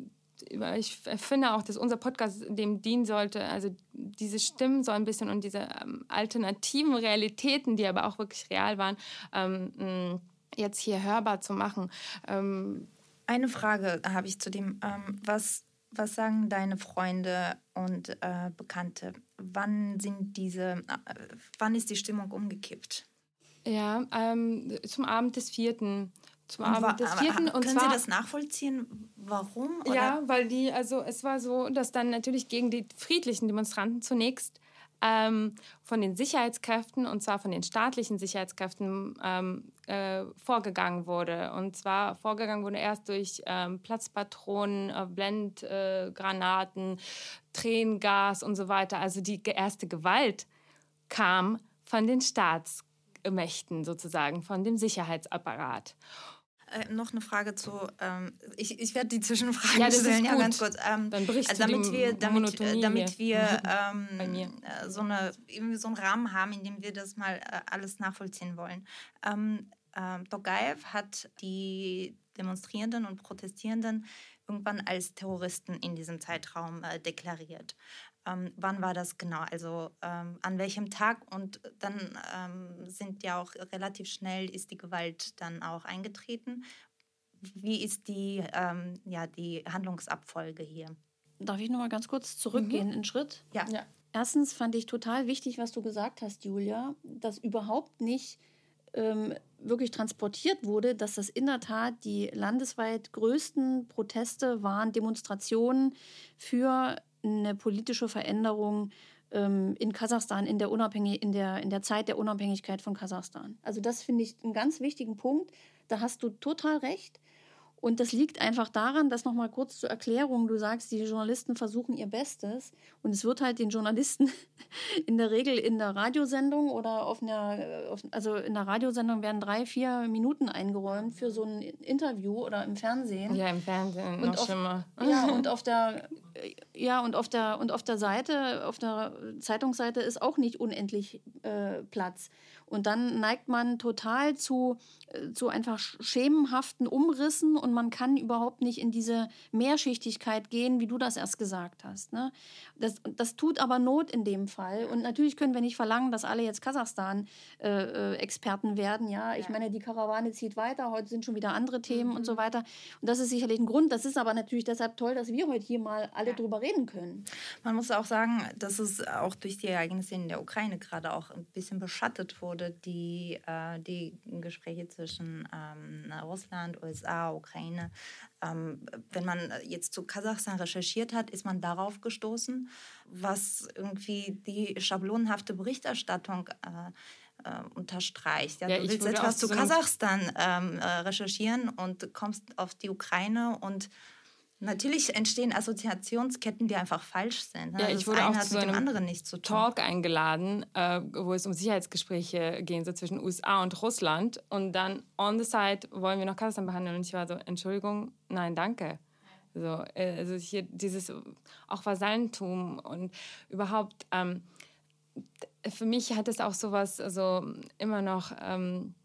Speaker 1: ich finde auch, dass unser Podcast dem dienen sollte, also diese Stimmen so ein bisschen und diese ähm, alternativen Realitäten, die aber auch wirklich real waren, ähm, jetzt hier hörbar zu machen. Ähm,
Speaker 7: Eine Frage habe ich zu dem, ähm, was, was sagen deine Freunde und äh, Bekannte? Wann sind diese, äh, wann ist die Stimmung umgekippt?
Speaker 1: Ja, ähm, zum Abend des vierten Zum
Speaker 7: und
Speaker 1: Abend
Speaker 7: wa-
Speaker 1: des vierten
Speaker 7: aber,
Speaker 1: und
Speaker 7: können
Speaker 1: zwar,
Speaker 7: Sie das nachvollziehen? Warum? Oder?
Speaker 1: Ja, weil die, also es war so, dass dann natürlich gegen die friedlichen Demonstranten zunächst ähm, von den Sicherheitskräften, und zwar von den staatlichen Sicherheitskräften, ähm, äh, vorgegangen wurde. Und zwar vorgegangen wurde erst durch ähm, Platzpatronen, äh, Blendgranaten, äh, Tränengas und so weiter. Also die erste Gewalt kam von den Staatsmächten sozusagen, von dem Sicherheitsapparat.
Speaker 7: Äh, noch eine Frage zu, ähm, ich, ich werde die Zwischenfragen
Speaker 1: ja, das
Speaker 7: stellen,
Speaker 1: ist
Speaker 7: ja,
Speaker 1: gut.
Speaker 7: ganz kurz. Ähm,
Speaker 1: Dann brichst
Speaker 7: also damit
Speaker 1: du die
Speaker 7: wir, damit,
Speaker 1: Monotonie
Speaker 7: damit wir ähm,
Speaker 1: bei mir.
Speaker 7: so, eine, irgendwie so einen Rahmen haben, in dem wir das mal äh, alles nachvollziehen wollen. Ähm, ähm, Tokayev hat die Demonstrierenden und Protestierenden irgendwann als Terroristen in diesem Zeitraum äh, deklariert. Ähm, wann war das genau? Also ähm, an welchem Tag? Und dann ähm, sind ja auch relativ schnell ist die Gewalt dann auch eingetreten. Wie ist die, ähm, ja, die Handlungsabfolge hier?
Speaker 6: Darf ich noch mal ganz kurz zurückgehen, mhm. einen Schritt?
Speaker 7: Ja.
Speaker 1: ja.
Speaker 6: Erstens fand ich total wichtig, was du gesagt hast, Julia, dass überhaupt nicht ähm, wirklich transportiert wurde, dass das in der Tat die landesweit größten Proteste waren, Demonstrationen für eine politische Veränderung ähm, in Kasachstan, in der, Unabhängig- in, der, in der Zeit der Unabhängigkeit von Kasachstan. Also das finde ich einen ganz wichtigen Punkt. Da hast du total recht. Und das liegt einfach daran, dass noch mal kurz zur Erklärung, du sagst, die Journalisten versuchen ihr Bestes und es wird halt den Journalisten in der Regel in der Radiosendung oder auf einer, auf, also in der Radiosendung werden drei, vier Minuten eingeräumt für so ein Interview oder im Fernsehen.
Speaker 1: Ja, im Fernsehen
Speaker 6: und
Speaker 1: noch
Speaker 6: auf,
Speaker 1: schlimmer.
Speaker 6: Ja, und auf der ja und auf der und auf der Seite, auf der Zeitungsseite ist auch nicht unendlich äh, Platz. Und dann neigt man total zu, äh, zu einfach schemenhaften Umrissen und man kann überhaupt nicht in diese Mehrschichtigkeit gehen, wie du das erst gesagt hast. Ne? Das, das tut aber Not in dem Fall. Und natürlich können wir nicht verlangen, dass alle jetzt Kasachstan-Experten äh, werden. Ja, ich ja. meine, die Karawane zieht weiter, heute sind schon wieder andere Themen mhm. und so weiter. Und das ist sicherlich ein Grund. Das ist aber natürlich deshalb toll, dass wir heute hier mal alle ja. drüber reden können.
Speaker 7: Man muss auch sagen, dass es auch durch die Ereignisse in der Ukraine gerade auch ein bisschen beschattet wurde. Die, äh, die Gespräche zwischen ähm, Russland, U S A, Ukraine. Ähm, wenn man jetzt zu Kasachstan recherchiert hat, ist man darauf gestoßen, was irgendwie die schablonenhafte Berichterstattung äh, äh, unterstreicht. Ja,
Speaker 1: ja,
Speaker 7: du willst etwas zu Kasachstan ähm, äh, recherchieren und kommst auf die Ukraine und Natürlich entstehen Assoziationsketten, die einfach falsch sind.
Speaker 1: Ja,
Speaker 7: also
Speaker 1: ich wurde auch
Speaker 7: hat
Speaker 1: zu
Speaker 7: mit
Speaker 1: einem
Speaker 7: dem anderen nichts zu tun.
Speaker 1: Talk eingeladen, äh, wo es um Sicherheitsgespräche ging, so zwischen U S A und Russland. Und dann on the side wollen wir noch Kasachstan behandeln. Und ich war so, Entschuldigung, nein, danke. So, äh, also hier dieses auch Vasallentum und überhaupt, ähm, für mich hat es auch sowas, also immer noch... Ähm,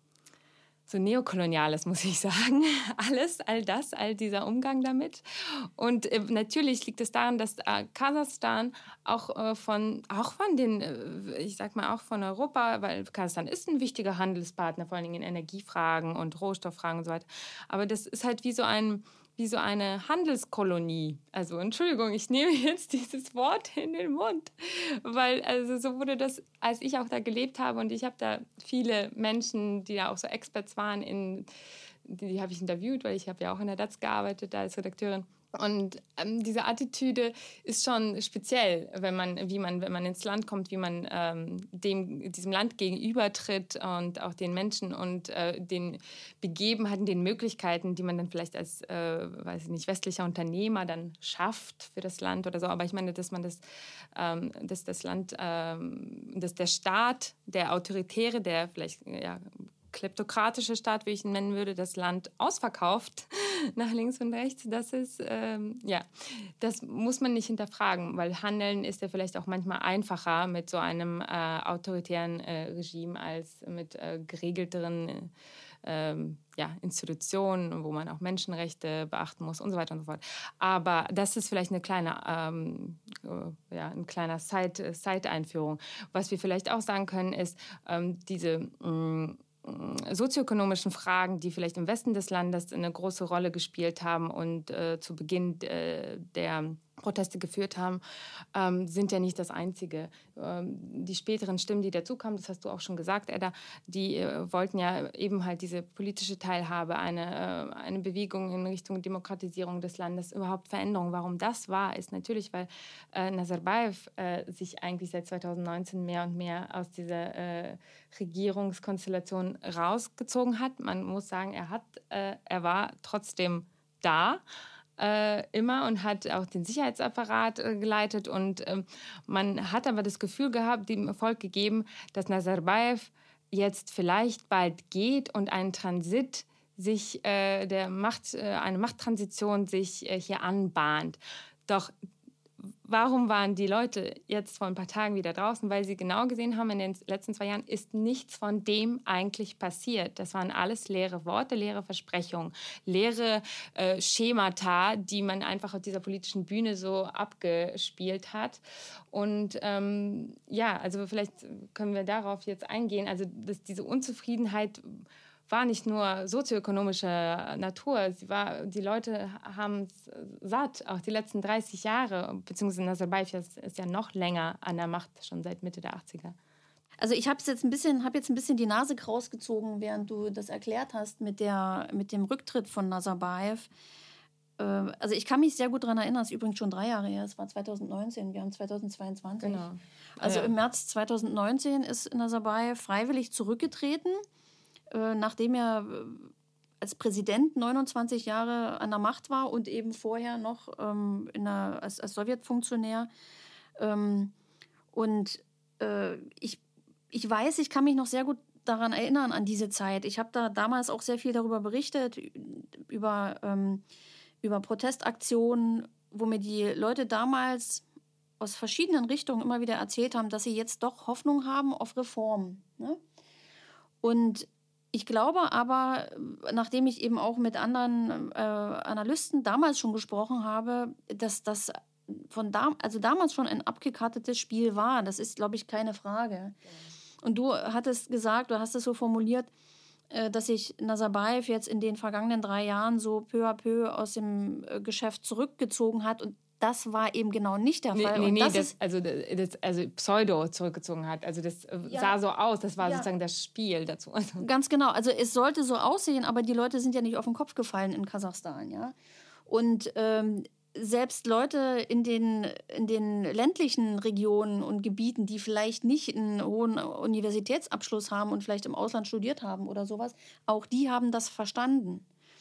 Speaker 1: so Neokoloniales, muss ich sagen. Alles, all das, all dieser Umgang damit. Und äh, natürlich liegt es daran, dass äh, Kasachstan auch, äh, von, auch von den, äh, ich sag mal auch von Europa, weil Kasachstan ist ein wichtiger Handelspartner, vor allen Dingen in Energiefragen und Rohstofffragen und so weiter. Aber das ist halt wie so ein... wie so eine Handelskolonie. Also Entschuldigung, ich nehme jetzt dieses Wort in den Mund, weil also so wurde das, als ich auch da gelebt habe und ich habe da viele Menschen, die da auch so Experts waren, in, die, die habe ich interviewt, weil ich habe ja auch in der D A Z gearbeitet, da als Redakteurin. Und ähm, diese Attitüde ist schon speziell, wenn man, wie man, wenn man ins Land kommt, wie man ähm, dem, diesem Land gegenübertritt und auch den Menschen und äh, den Begebenheiten, den Möglichkeiten, die man dann vielleicht als, äh, weiß ich nicht, westlicher Unternehmer dann schafft für das Land oder so. Aber ich meine, dass man das, ähm, dass das Land, ähm, dass der Staat, der Autoritäre, der vielleicht, ja, kleptokratische Staat, wie ich ihn nennen würde, das Land ausverkauft nach links und rechts, das ist, ähm, ja, das muss man nicht hinterfragen, weil Handeln ist ja vielleicht auch manchmal einfacher mit so einem äh, autoritären äh, Regime als mit äh, geregelteren äh, ja, Institutionen, wo man auch Menschenrechte beachten muss und so weiter und so fort. Aber das ist vielleicht eine kleine, ähm, äh, ja, ein kleiner Side, Side-Einführung. Was wir vielleicht auch sagen können, ist, ähm, diese mh, sozioökonomischen Fragen, die vielleicht im Westen des Landes eine große Rolle gespielt haben und äh, zu Beginn äh, der Proteste geführt haben, ähm, sind ja nicht das Einzige. Ähm, die späteren Stimmen, die dazukamen, das hast du auch schon gesagt, Edda, die äh, wollten ja eben halt diese politische Teilhabe, eine, äh, eine Bewegung in Richtung Demokratisierung des Landes, überhaupt Veränderung. Warum das war, ist natürlich, weil äh, Nazarbayev äh, sich eigentlich seit zweitausendneunzehn mehr und mehr aus dieser äh, Regierungskonstellation rausgezogen hat. Man muss sagen, er, hat, äh, er war trotzdem da, Äh, immer und hat auch den Sicherheitsapparat äh, geleitet. Und ähm, man hat aber das Gefühl gehabt, dem Volk gegeben, dass Nazarbayev jetzt vielleicht bald geht und ein Transit sich, äh, der Macht, äh, eine Machttransition sich äh, hier anbahnt. Doch warum waren die Leute jetzt vor ein paar Tagen wieder draußen? Weil sie genau gesehen haben, in den letzten zwei Jahren ist nichts von dem eigentlich passiert. Das waren alles leere Worte, leere Versprechungen, leere äh, Schemata, die man einfach auf dieser politischen Bühne so abgespielt hat. Und ähm, ja, also vielleicht können wir darauf jetzt eingehen. Also dass diese Unzufriedenheit war nicht nur sozioökonomischer Natur. Sie war, die Leute haben es satt, auch die letzten dreißig Jahre, beziehungsweise Nazarbayev ist, ist ja noch länger an der Macht, schon seit Mitte der achtziger.
Speaker 6: Also ich habe jetzt ein bisschen, habe jetzt ein bisschen die Nase rausgezogen, während du das erklärt hast mit, der, mit dem Rücktritt von Nazarbayev. Also ich kann mich sehr gut daran erinnern, es ist übrigens schon drei Jahre her, es war zweitausendneunzehn, wir haben zweitausendzweiundzwanzig.
Speaker 1: Genau.
Speaker 6: Also
Speaker 1: ja.
Speaker 6: Im März zweitausendneunzehn ist Nazarbayev freiwillig zurückgetreten, nachdem er als Präsident neunundzwanzig Jahre an der Macht war und eben vorher noch ähm, in der, als, als Sowjetfunktionär. Ähm, und äh, ich, ich weiß, ich kann mich noch sehr gut daran erinnern, an diese Zeit. Ich habe da damals auch sehr viel darüber berichtet, über, ähm, über Protestaktionen, wo mir die Leute damals aus verschiedenen Richtungen immer wieder erzählt haben, dass sie jetzt doch Hoffnung haben auf Reformen. Ne? Und ich glaube aber, nachdem ich eben auch mit anderen äh, Analysten damals schon gesprochen habe, dass das von da, also damals schon ein abgekartetes Spiel war. Das ist, glaube ich, keine Frage. Und du hattest gesagt, du hast es so formuliert, äh, dass sich Nazarbayev jetzt in den vergangenen drei Jahren so peu à peu aus dem äh, Geschäft zurückgezogen hat. Und das war eben genau nicht der Fall.
Speaker 1: Nee, nee,
Speaker 6: und das,
Speaker 1: das, also, das also Pseudo zurückgezogen hat. Also das ja. sah so aus, das war ja. sozusagen das Spiel dazu. Also
Speaker 6: ganz genau, also es sollte so aussehen, aber die Leute sind ja nicht auf den Kopf gefallen in Kasachstan. Ja? Und ähm, selbst Leute in den, in den ländlichen Regionen und Gebieten, die vielleicht nicht einen hohen Universitätsabschluss haben und vielleicht im Ausland studiert haben oder sowas, auch die haben das verstanden.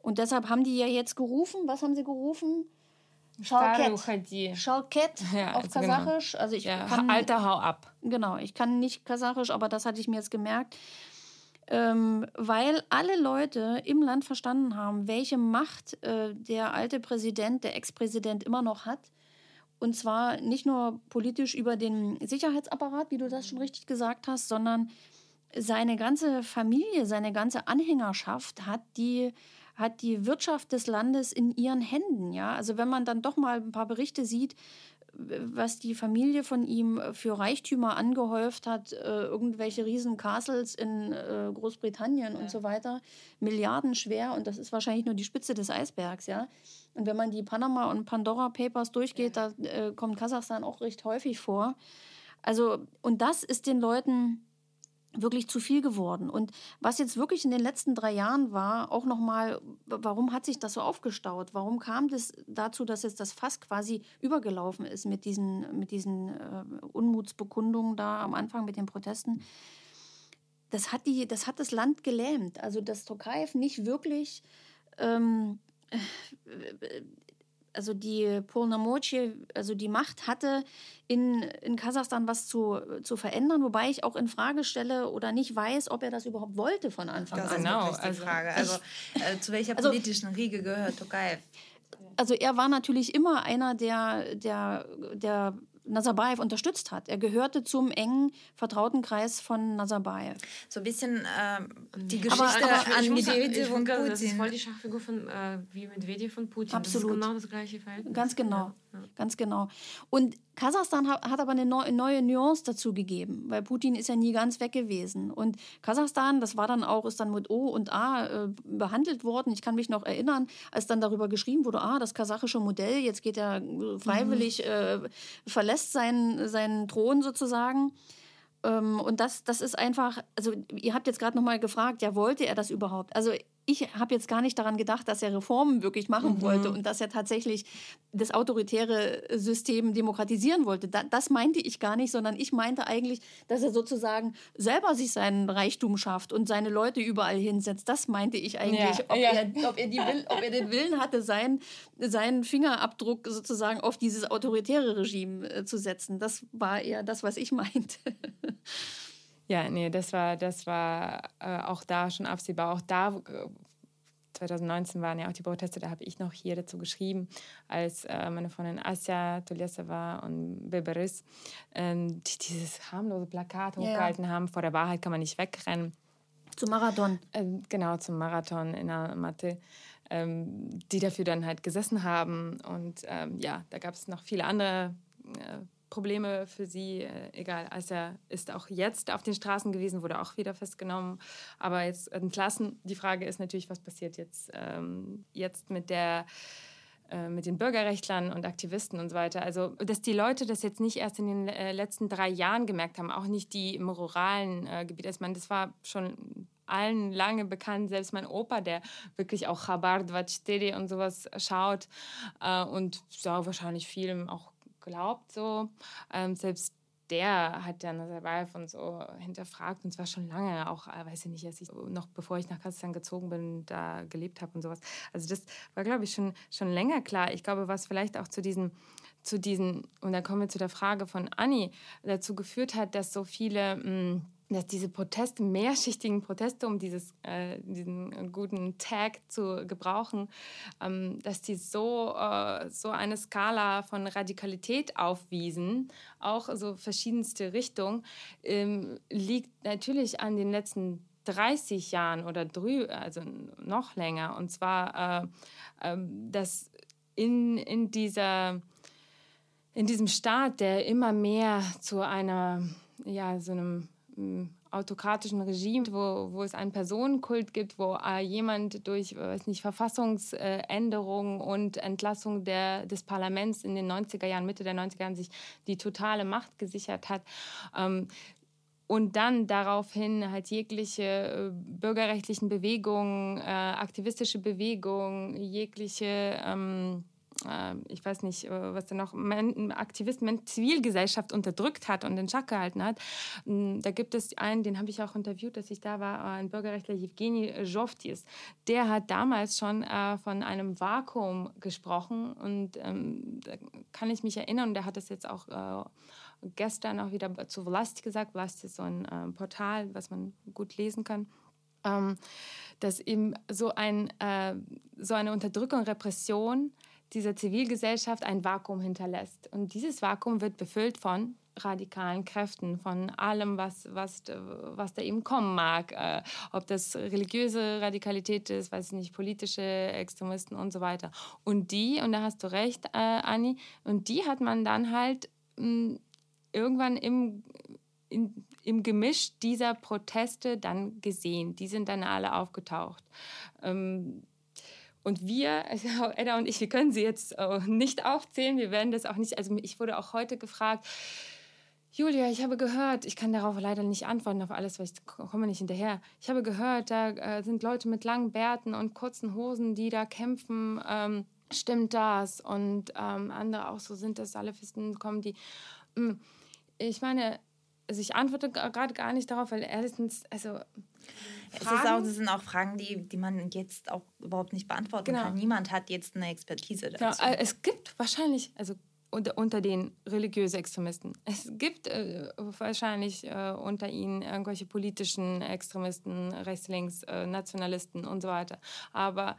Speaker 6: Und deshalb haben die ja jetzt gerufen, was haben sie gerufen? Shalket. Shalket ja, auf also Kasachisch. Genau. Also ich
Speaker 1: ja,
Speaker 6: kann,
Speaker 1: Alter, hau ab.
Speaker 6: Genau, ich kann nicht Kasachisch, aber das hatte ich mir jetzt gemerkt. Ähm, weil alle Leute im Land verstanden haben, welche Macht äh, der alte Präsident, der Ex-Präsident immer noch hat. Und zwar nicht nur politisch über den Sicherheitsapparat, wie du das schon richtig gesagt hast, sondern seine ganze Familie, seine ganze Anhängerschaft hat die, hat die Wirtschaft des Landes in ihren Händen. Ja? Also wenn man dann doch mal ein paar Berichte sieht, was die Familie von ihm für Reichtümer angehäuft hat, äh, irgendwelche riesen Castles in äh, Großbritannien ja. und so weiter, milliardenschwer, und das ist wahrscheinlich nur die Spitze des Eisbergs, ja. Und wenn man die Panama- und Pandora-Papers durchgeht, ja. da äh, kommt Kasachstan auch recht häufig vor. Also, und das ist den Leuten wirklich zu viel geworden. Und was jetzt wirklich in den letzten drei Jahren war, auch nochmal, warum hat sich das so aufgestaut? Warum kam das dazu, dass jetzt das Fass quasi übergelaufen ist mit diesen, mit diesen äh, Unmutsbekundungen da am Anfang mit den Protesten? Das hat, die, das hat das Land gelähmt. Also dass Tokayev nicht wirklich ähm, also die Polnomocie, also die Macht hatte, in, in Kasachstan was zu, zu verändern, wobei ich auch in Frage stelle oder nicht weiß, ob er das überhaupt wollte von Anfang
Speaker 7: das
Speaker 6: an.
Speaker 7: Das ist wirklich die Frage. Also äh, zu welcher
Speaker 6: also,
Speaker 7: politischen Riege gehört Tokayev?
Speaker 6: Also er war natürlich immer einer, der, der, der Nazarbayev unterstützt hat. Er gehörte zum engen Vertrautenkreis von Nazarbayev.
Speaker 7: So ein bisschen äh, die Geschichte aber, aber an Medvedev und Putin.
Speaker 8: Das ist voll die Schachfigur von, äh, wie Medvedev und Putin.
Speaker 6: Absolut.
Speaker 8: Das ist genau das gleiche Verhältnis.
Speaker 6: Ganz genau.
Speaker 8: Ja, ja.
Speaker 6: Ganz genau. Und Kasachstan hat, hat aber eine neue, neue Nuance dazu gegeben, weil Putin ist ja nie ganz weg gewesen. Und Kasachstan, das war dann auch, ist dann mit O und A äh, behandelt worden. Ich kann mich noch erinnern, als dann darüber geschrieben wurde, ah, das kasachische Modell, jetzt geht er freiwillig, mhm. äh, verlässt seinen, seinen Thron sozusagen. Ähm, und das, das ist einfach, also ihr habt jetzt gerade noch mal gefragt, ja, wollte er das überhaupt? Also ich habe jetzt gar nicht daran gedacht, dass er Reformen wirklich machen mhm. wollte und dass er tatsächlich das autoritäre System demokratisieren wollte. Da, das meinte ich gar nicht, sondern ich meinte eigentlich, dass er sozusagen selber sich seinen Reichtum schafft und seine Leute überall hinsetzt. Das meinte ich eigentlich, ja, ob, ja. Er, ob, er die Will, ob er den Willen hatte, sein, seinen Fingerabdruck sozusagen auf dieses autoritäre Regime äh, zu setzen. Das war eher das, was ich meinte.
Speaker 1: Ja, nee, das war, das war äh, auch da schon absehbar. Auch da, äh, zwanzig neunzehn waren ja auch die Proteste, da habe ich noch hier dazu geschrieben, als äh, meine Freundin Asya Tulesova und Beberis äh, die dieses harmlose Plakat hochgehalten ja. haben, vor der Wahrheit kann man nicht wegrennen.
Speaker 6: Zum Marathon.
Speaker 1: Äh, genau, zum Marathon in Almaty, ähm, die dafür dann halt gesessen haben. Und ähm, ja, da gab es noch viele andere äh, Probleme für sie, äh, egal. Also er ist auch jetzt auf den Straßen gewesen, wurde auch wieder festgenommen, aber jetzt entlassen. Die Frage ist natürlich, was passiert jetzt, ähm, jetzt mit der äh, mit den Bürgerrechtlern und Aktivisten und so weiter. Also, dass die Leute das jetzt nicht erst in den äh, letzten drei Jahren gemerkt haben, auch nicht die im ruralen äh, Gebiet. Also, ich meine, das war schon allen lange bekannt, selbst mein Opa, der wirklich auch Chabar vierundzwanzig und sowas schaut äh, und ja, wahrscheinlich vielem auch glaubt so. Ähm, selbst der hat ja Nazarbayev und so hinterfragt und zwar schon lange, auch, äh, weiß ich nicht, als ich noch bevor ich nach Kasachstan gezogen bin, da gelebt habe und sowas. Also das war, glaube ich, schon, schon länger klar. Ich glaube, was vielleicht auch zu diesen, zu diesen, und dann kommen wir zu der Frage von Anni, dazu geführt hat, dass so viele mh, dass diese Proteste, mehrschichtigen Proteste, um dieses, äh, diesen guten Tag zu gebrauchen, ähm, dass die so, äh, so eine Skala von Radikalität aufwiesen, auch so verschiedenste Richtungen, ähm, liegt natürlich an den letzten dreißig Jahren oder drü- also noch länger. Und zwar, äh, äh, dass in, in, dieser, in diesem Staat, der immer mehr zu einer, ja, so einem autokratischen Regime, wo, wo es einen Personenkult gibt, wo äh, jemand durch weiß nicht, Verfassungsänderung und Entlassung der, des Parlaments in den neunziger Jahren, Mitte der neunziger Jahren sich die totale Macht gesichert hat. Ähm, und dann daraufhin halt jegliche äh, bürgerrechtlichen Bewegungen, äh, aktivistische Bewegungen, jegliche ähm, äh, ich weiß nicht, äh, was da noch, Men- Aktivisten, Zivilgesellschaft unterdrückt hat und in Schach gehalten hat. Da gibt es einen, den habe ich auch interviewt, dass ich da war, ein Bürgerrechtler, Jewgeni Zhovtis. Der hat damals schon äh, von einem Vakuum gesprochen und ähm, da kann ich mich erinnern, und der hat das jetzt auch äh, gestern auch wieder zu Vlast gesagt. Vlast ist so ein äh, Portal, was man gut lesen kann. Ähm, dass eben so, ein, äh, so eine Unterdrückung, Repression dieser Zivilgesellschaft ein Vakuum hinterlässt. Und dieses Vakuum wird befüllt von radikalen Kräften, von allem, was, was, was da eben kommen mag. Äh, ob das religiöse Radikalität ist, weiß ich nicht, politische Extremisten und so weiter. Und die, und da hast du recht, äh, Anni, und die hat man dann halt mh, irgendwann im In, im Gemisch dieser Proteste dann gesehen. Die sind dann alle aufgetaucht. Ähm, und wir, also Edda und ich, wir können sie jetzt äh, nicht aufzählen. Wir werden das auch nicht, also ich wurde auch heute gefragt, Julia, ich habe gehört, ich kann darauf leider nicht antworten auf alles, weil ich komme nicht hinterher. Ich habe gehört, da äh, sind Leute mit langen Bärten und kurzen Hosen, die da kämpfen. Ähm, stimmt das? Und ähm, andere auch so, sind das Salafisten, kommen die... Mh, ich meine... Also ich antworte gerade gar nicht darauf, weil erstens, also
Speaker 7: es ist auch, das sind auch Fragen, die, die man jetzt auch überhaupt nicht beantworten genau. kann. Niemand hat jetzt eine Expertise dazu.
Speaker 1: Genau. Es gibt wahrscheinlich, also unter, unter den religiösen Extremisten, es gibt äh, wahrscheinlich äh, unter ihnen irgendwelche politischen Extremisten, rechts, links, äh, Nationalisten und so weiter. Aber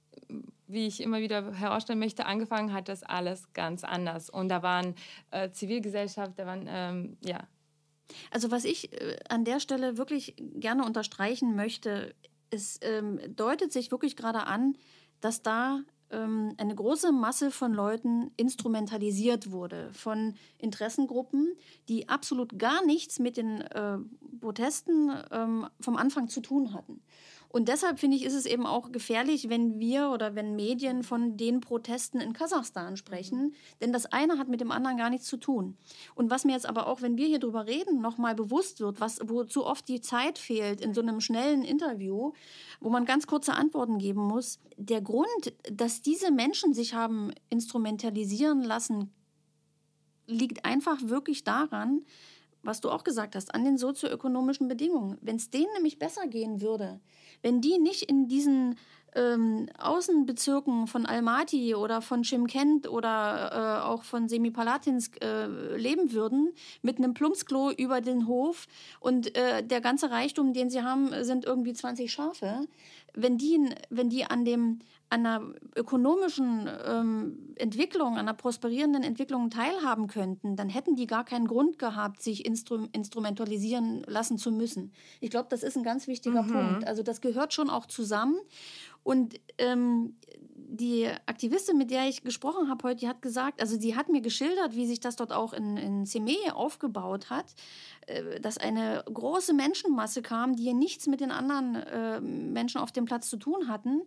Speaker 1: wie ich immer wieder herausstellen möchte, angefangen hat das alles ganz anders. Und da waren äh, Zivilgesellschaft, da waren, ähm, ja,
Speaker 6: Also was ich äh, an der Stelle wirklich gerne unterstreichen möchte, es ähm, deutet sich wirklich gerade an, dass da ähm, eine große Masse von Leuten instrumentalisiert wurde, von Interessengruppen, die absolut gar nichts mit den äh, Protesten ähm, vom Anfang zu tun hatten. Und deshalb, finde ich, ist es eben auch gefährlich, wenn wir oder wenn Medien von den Protesten in Kasachstan sprechen. Mhm. Denn das eine hat mit dem anderen gar nichts zu tun. Und was mir jetzt aber auch, wenn wir hier drüber reden, nochmal bewusst wird, was, wo zu oft die Zeit fehlt in so einem schnellen Interview, wo man ganz kurze Antworten geben muss. Der Grund, dass diese Menschen sich haben instrumentalisieren lassen, liegt einfach wirklich daran, was du auch gesagt hast, an den sozioökonomischen Bedingungen. Wenn es denen nämlich besser gehen würde, wenn die nicht in diesen ähm, Außenbezirken von Almaty oder von Chimkent oder äh, auch von Semipalatinsk äh, leben würden, mit einem Plumpsklo über den Hof und äh, der ganze Reichtum, den sie haben, sind irgendwie zwanzig Schafe. Wenn die, wenn die an dem an einer ökonomischen ähm, Entwicklung, an einer prosperierenden Entwicklung teilhaben könnten, dann hätten die gar keinen Grund gehabt, sich instru- instrumentalisieren lassen zu müssen. Ich glaube, das ist ein ganz wichtiger mhm. Punkt. Also das gehört schon auch zusammen. Und ähm, die Aktivistin, mit der ich gesprochen habe heute, die hat gesagt, also sie hat mir geschildert, wie sich das dort auch in, in Semey aufgebaut hat, äh, dass eine große Menschenmasse kam, die nichts mit den anderen äh, Menschen auf dem Platz zu tun hatten.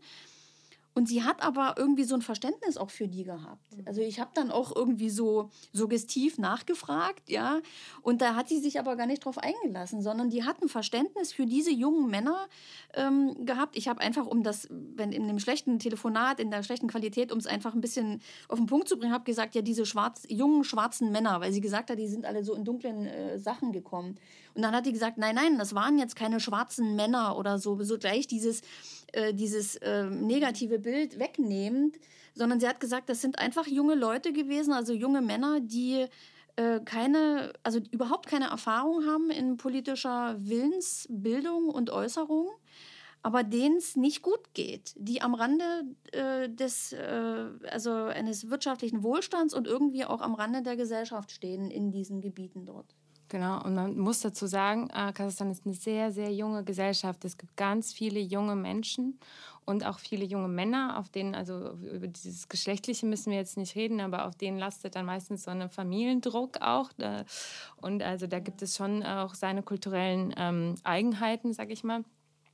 Speaker 6: Und sie hat aber irgendwie so ein Verständnis auch für die gehabt. Also ich habe dann auch irgendwie so suggestiv nachgefragt, ja. Und da hat sie sich aber gar nicht drauf eingelassen, sondern die hat ein Verständnis für diese jungen Männer ähm, gehabt. Ich habe einfach, um das, wenn in dem schlechten Telefonat, in der schlechten Qualität, um es einfach ein bisschen auf den Punkt zu bringen, habe gesagt, ja, diese schwarz, jungen, schwarzen Männer, weil sie gesagt hat, die sind alle so in dunklen äh, Sachen gekommen. Und dann hat die gesagt, nein, nein, das waren jetzt keine schwarzen Männer oder so, so gleich dieses, äh, dieses äh, negative Bild wegnehmend, sondern sie hat gesagt, das sind einfach junge Leute gewesen, also junge Männer, die äh, keine, also überhaupt keine Erfahrung haben in politischer Willensbildung und Äußerung, aber denen es nicht gut geht, die am Rande äh, des, äh, also eines wirtschaftlichen Wohlstands und irgendwie auch am Rande der Gesellschaft stehen in diesen Gebieten dort.
Speaker 1: Genau, und man muss dazu sagen, äh, Kasachstan ist eine sehr, sehr junge Gesellschaft. Es gibt ganz viele junge Menschen und auch viele junge Männer, auf denen, also über dieses Geschlechtliche müssen wir jetzt nicht reden, aber auf denen lastet dann meistens so ein Familiendruck auch. Äh, und also da gibt es schon auch seine kulturellen ähm, Eigenheiten, sag ich mal.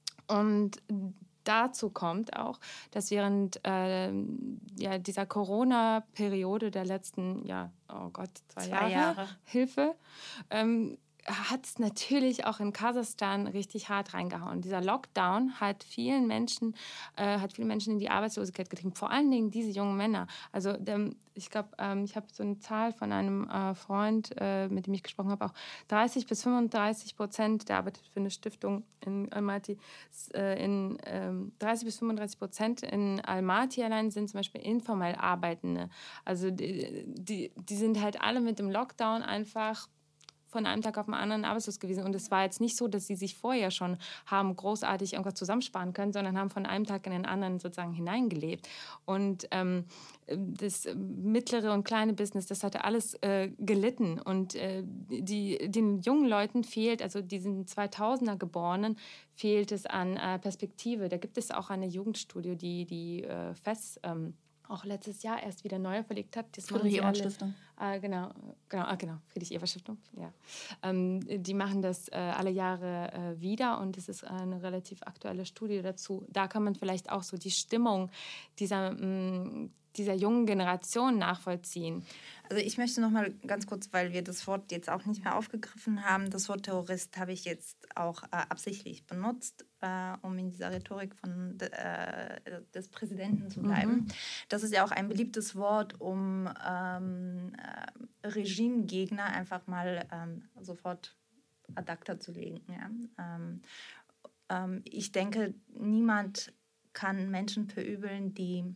Speaker 1: Und dazu kommt auch, dass während äh, ja, dieser Corona-Periode der letzten, ja, oh Gott, zwei, zwei Jahre, Jahre, Hilfe, ähm, hat es natürlich auch in Kasachstan richtig hart reingehauen. Dieser Lockdown hat vielen Menschen, äh, hat viele Menschen in die Arbeitslosigkeit getrieben. Vor allen Dingen diese jungen Männer. Also ähm, ich glaube, ähm, ich habe so eine Zahl von einem äh, Freund, äh, mit dem ich gesprochen habe, auch dreißig bis fünfunddreißig Prozent, der arbeitet für eine Stiftung in Almaty, äh, in ähm, dreißig bis fünfunddreißig Prozent in Almaty allein sind zum Beispiel informell Arbeitende. Also die, die, die sind halt alle mit dem Lockdown einfach von einem Tag auf den anderen arbeitslos gewesen. Und es war jetzt nicht so, dass sie sich vorher schon haben großartig irgendwas zusammensparen können, sondern haben von einem Tag in den anderen sozusagen hineingelebt. Und ähm, das mittlere und kleine Business, das hatte alles äh, gelitten. Und äh, die, den jungen Leuten fehlt, also diesen zweitausender Geborenen, fehlt es an äh, Perspektive. Da gibt es auch eine Jugendstudio, die die äh, F E S ähm, auch letztes Jahr erst wieder neu verlegt hat. Das
Speaker 6: Friedrich-Ebert-Stiftung.
Speaker 1: Äh, genau, genau, ah, genau, Friedrich-Ebert-Stiftung, ja. Ähm, die machen das äh, alle Jahre äh, wieder und es ist eine relativ aktuelle Studie dazu. Da kann man vielleicht auch so die Stimmung dieser, mh, dieser jungen Generation nachvollziehen.
Speaker 7: Also ich möchte noch mal ganz kurz, weil wir das Wort jetzt auch nicht mehr aufgegriffen haben, das Wort Terrorist habe ich jetzt auch äh, absichtlich benutzt, äh, um in dieser Rhetorik von, äh, des Präsidenten zu bleiben. Mhm. Das ist ja auch ein beliebtes Wort, um ähm, äh, Regimegegner einfach mal ähm, sofort ad acta zu legen. Ja? Ähm, ähm, ich denke, niemand kann Menschen verübeln, die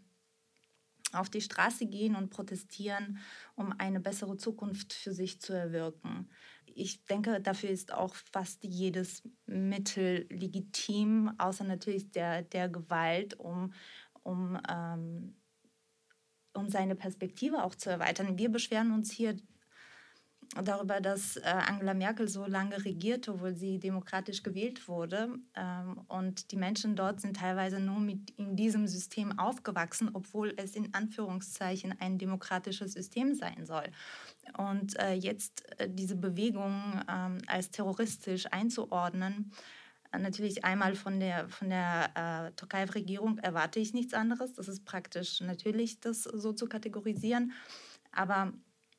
Speaker 7: auf die Straße gehen und protestieren, um eine bessere Zukunft für sich zu erwirken. Ich denke, dafür ist auch fast jedes Mittel legitim, außer natürlich der, der Gewalt, um, um, ähm, um seine Perspektive auch zu erweitern. Wir beschweren uns hier darüber, dass äh, Angela Merkel so lange regierte, obwohl sie demokratisch gewählt wurde. Ähm, und die Menschen dort sind teilweise nur mit in diesem System aufgewachsen, obwohl es in Anführungszeichen ein demokratisches System sein soll. Und äh, jetzt äh, diese Bewegung ähm, als terroristisch einzuordnen, äh, natürlich einmal von der, von der äh, Tokayev-Regierung erwarte ich nichts anderes. Das ist praktisch natürlich, das so zu kategorisieren. Aber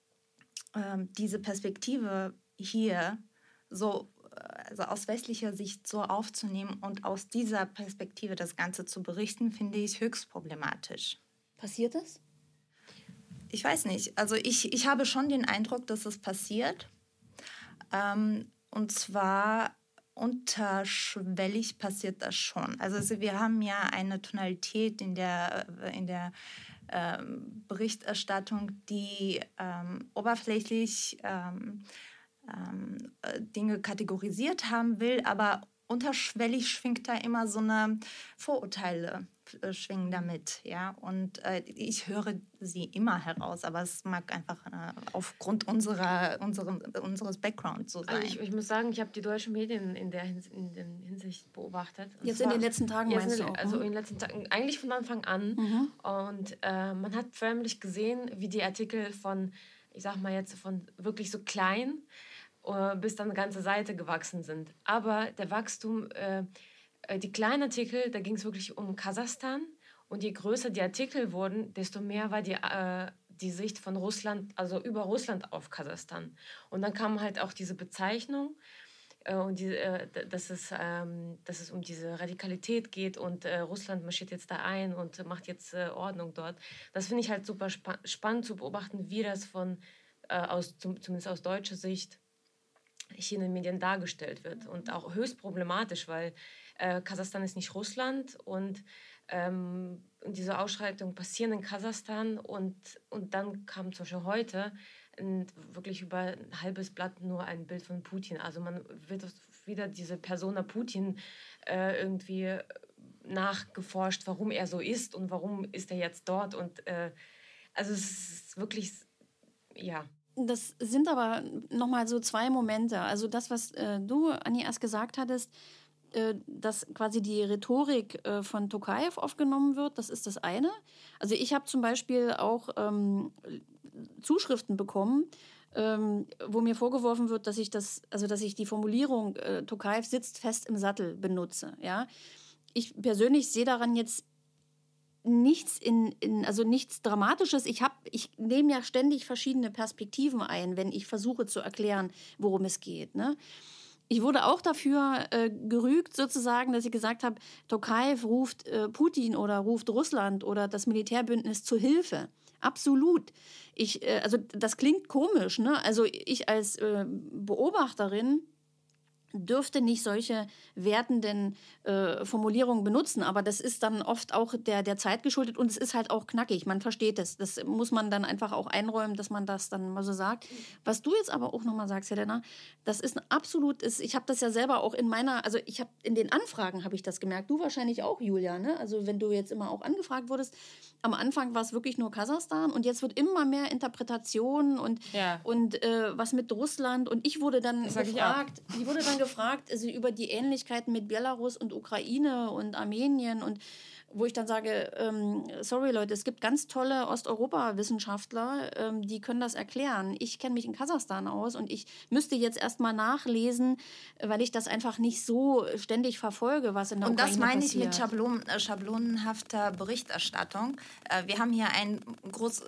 Speaker 7: diese Perspektive hier so, also aus westlicher Sicht so aufzunehmen und aus dieser Perspektive das Ganze zu berichten, finde ich höchst problematisch.
Speaker 6: Passiert das?
Speaker 7: Ich weiß nicht. Also ich, ich habe schon den Eindruck, dass es passiert. Ähm, und zwar unterschwellig passiert das schon. Also wir haben ja eine Tonalität in der, in der Ähm, Berichterstattung, die ähm, oberflächlich ähm, ähm, Dinge kategorisiert haben will, aber unterschwellig schwingt da immer so eine Vorurteile äh, schwingen damit, ja, und äh, ich höre sie immer heraus, aber es mag einfach äh, aufgrund unserer, unserem, unseres Backgrounds so sein.
Speaker 8: Also ich, ich muss sagen, ich habe die deutschen Medien in der, Hins- in der Hinsicht beobachtet. Und
Speaker 6: jetzt
Speaker 8: zwar,
Speaker 6: in den letzten Tagen meinst
Speaker 8: in,
Speaker 6: du auch?
Speaker 8: Also in den letzten Tagen, eigentlich von Anfang an. Mhm. Und äh, man hat förmlich gesehen, wie die Artikel von, ich sag mal jetzt, von wirklich so klein bis dann eine ganze Seite gewachsen sind. Aber der Wachstum, äh, die kleinen Artikel, da ging es wirklich um Kasachstan. Und je größer die Artikel wurden, desto mehr war die, äh, die Sicht von Russland, also über Russland auf Kasachstan. Und dann kam halt auch diese Bezeichnung, äh, und die, äh, dass, es, ähm, dass es um diese Radikalität geht und äh, Russland marschiert jetzt da ein und macht jetzt äh, Ordnung dort. Das finde ich halt super spa- spannend zu beobachten, wie das von, äh, aus, zum, zumindest aus deutscher Sicht, hier in den Medien dargestellt wird. Und auch höchst problematisch, weil äh, Kasachstan ist nicht Russland und ähm, diese Ausschreitungen passieren in Kasachstan und, und dann kam zum Beispiel heute ein, wirklich über ein halbes Blatt nur ein Bild von Putin. Also man wird wieder diese Persona Putin äh, irgendwie nachgeforscht, warum er so ist und warum ist er jetzt dort. Und äh, also es ist wirklich, ja.
Speaker 6: Das sind aber nochmal so zwei Momente. Also das, was äh, du, Anni, erst gesagt hattest, äh, dass quasi die Rhetorik äh, von Tokayev aufgenommen wird, das ist das eine. Also ich habe zum Beispiel auch ähm, Zuschriften bekommen, ähm, wo mir vorgeworfen wird, dass ich das, also dass ich die Formulierung äh, Tokayev sitzt fest im Sattel benutze. Ja? Ich persönlich sehe daran jetzt nichts in, in also nichts Dramatisches. Ich habe, ich nehme ja ständig verschiedene Perspektiven ein, wenn ich versuche zu erklären, worum es geht. Ne? Ich wurde auch dafür äh, gerügt, sozusagen, dass ich gesagt habe, Tokayev ruft äh, Putin oder ruft Russland oder das Militärbündnis zu Hilfe. Absolut. Ich, äh, also das klingt komisch, ne? Also ich als äh, Beobachterin dürfte nicht solche wertenden äh, Formulierungen benutzen, aber das ist dann oft auch der, der Zeit geschuldet und es ist halt auch knackig, man versteht es. Das muss man dann einfach auch einräumen, dass man das dann mal so sagt. Was du jetzt aber auch nochmal sagst, Helena, das ist ein absolutes, ich habe das ja selber auch in meiner, also ich habe in den Anfragen habe ich das gemerkt, du wahrscheinlich auch, Julia, ne? Also wenn du jetzt immer auch angefragt wurdest, am Anfang war es wirklich nur Kasachstan und jetzt wird immer mehr Interpretation und, ja. und äh, was mit Russland und ich wurde dann das gefragt, ich, ich wurde dann gefragt, also über die Ähnlichkeiten mit Belarus und Ukraine und Armenien und wo ich dann sage, ähm, sorry Leute, es gibt ganz tolle Osteuropa-Wissenschaftler, ähm, die können das erklären. Ich kenne mich in Kasachstan aus und ich müsste jetzt erstmal nachlesen, weil ich das einfach nicht so ständig verfolge, was in der
Speaker 7: und
Speaker 6: Ukraine passiert.
Speaker 7: Und das meine ich mit Schablon, äh, schablonenhafter Berichterstattung. Äh, wir haben hier ein groß...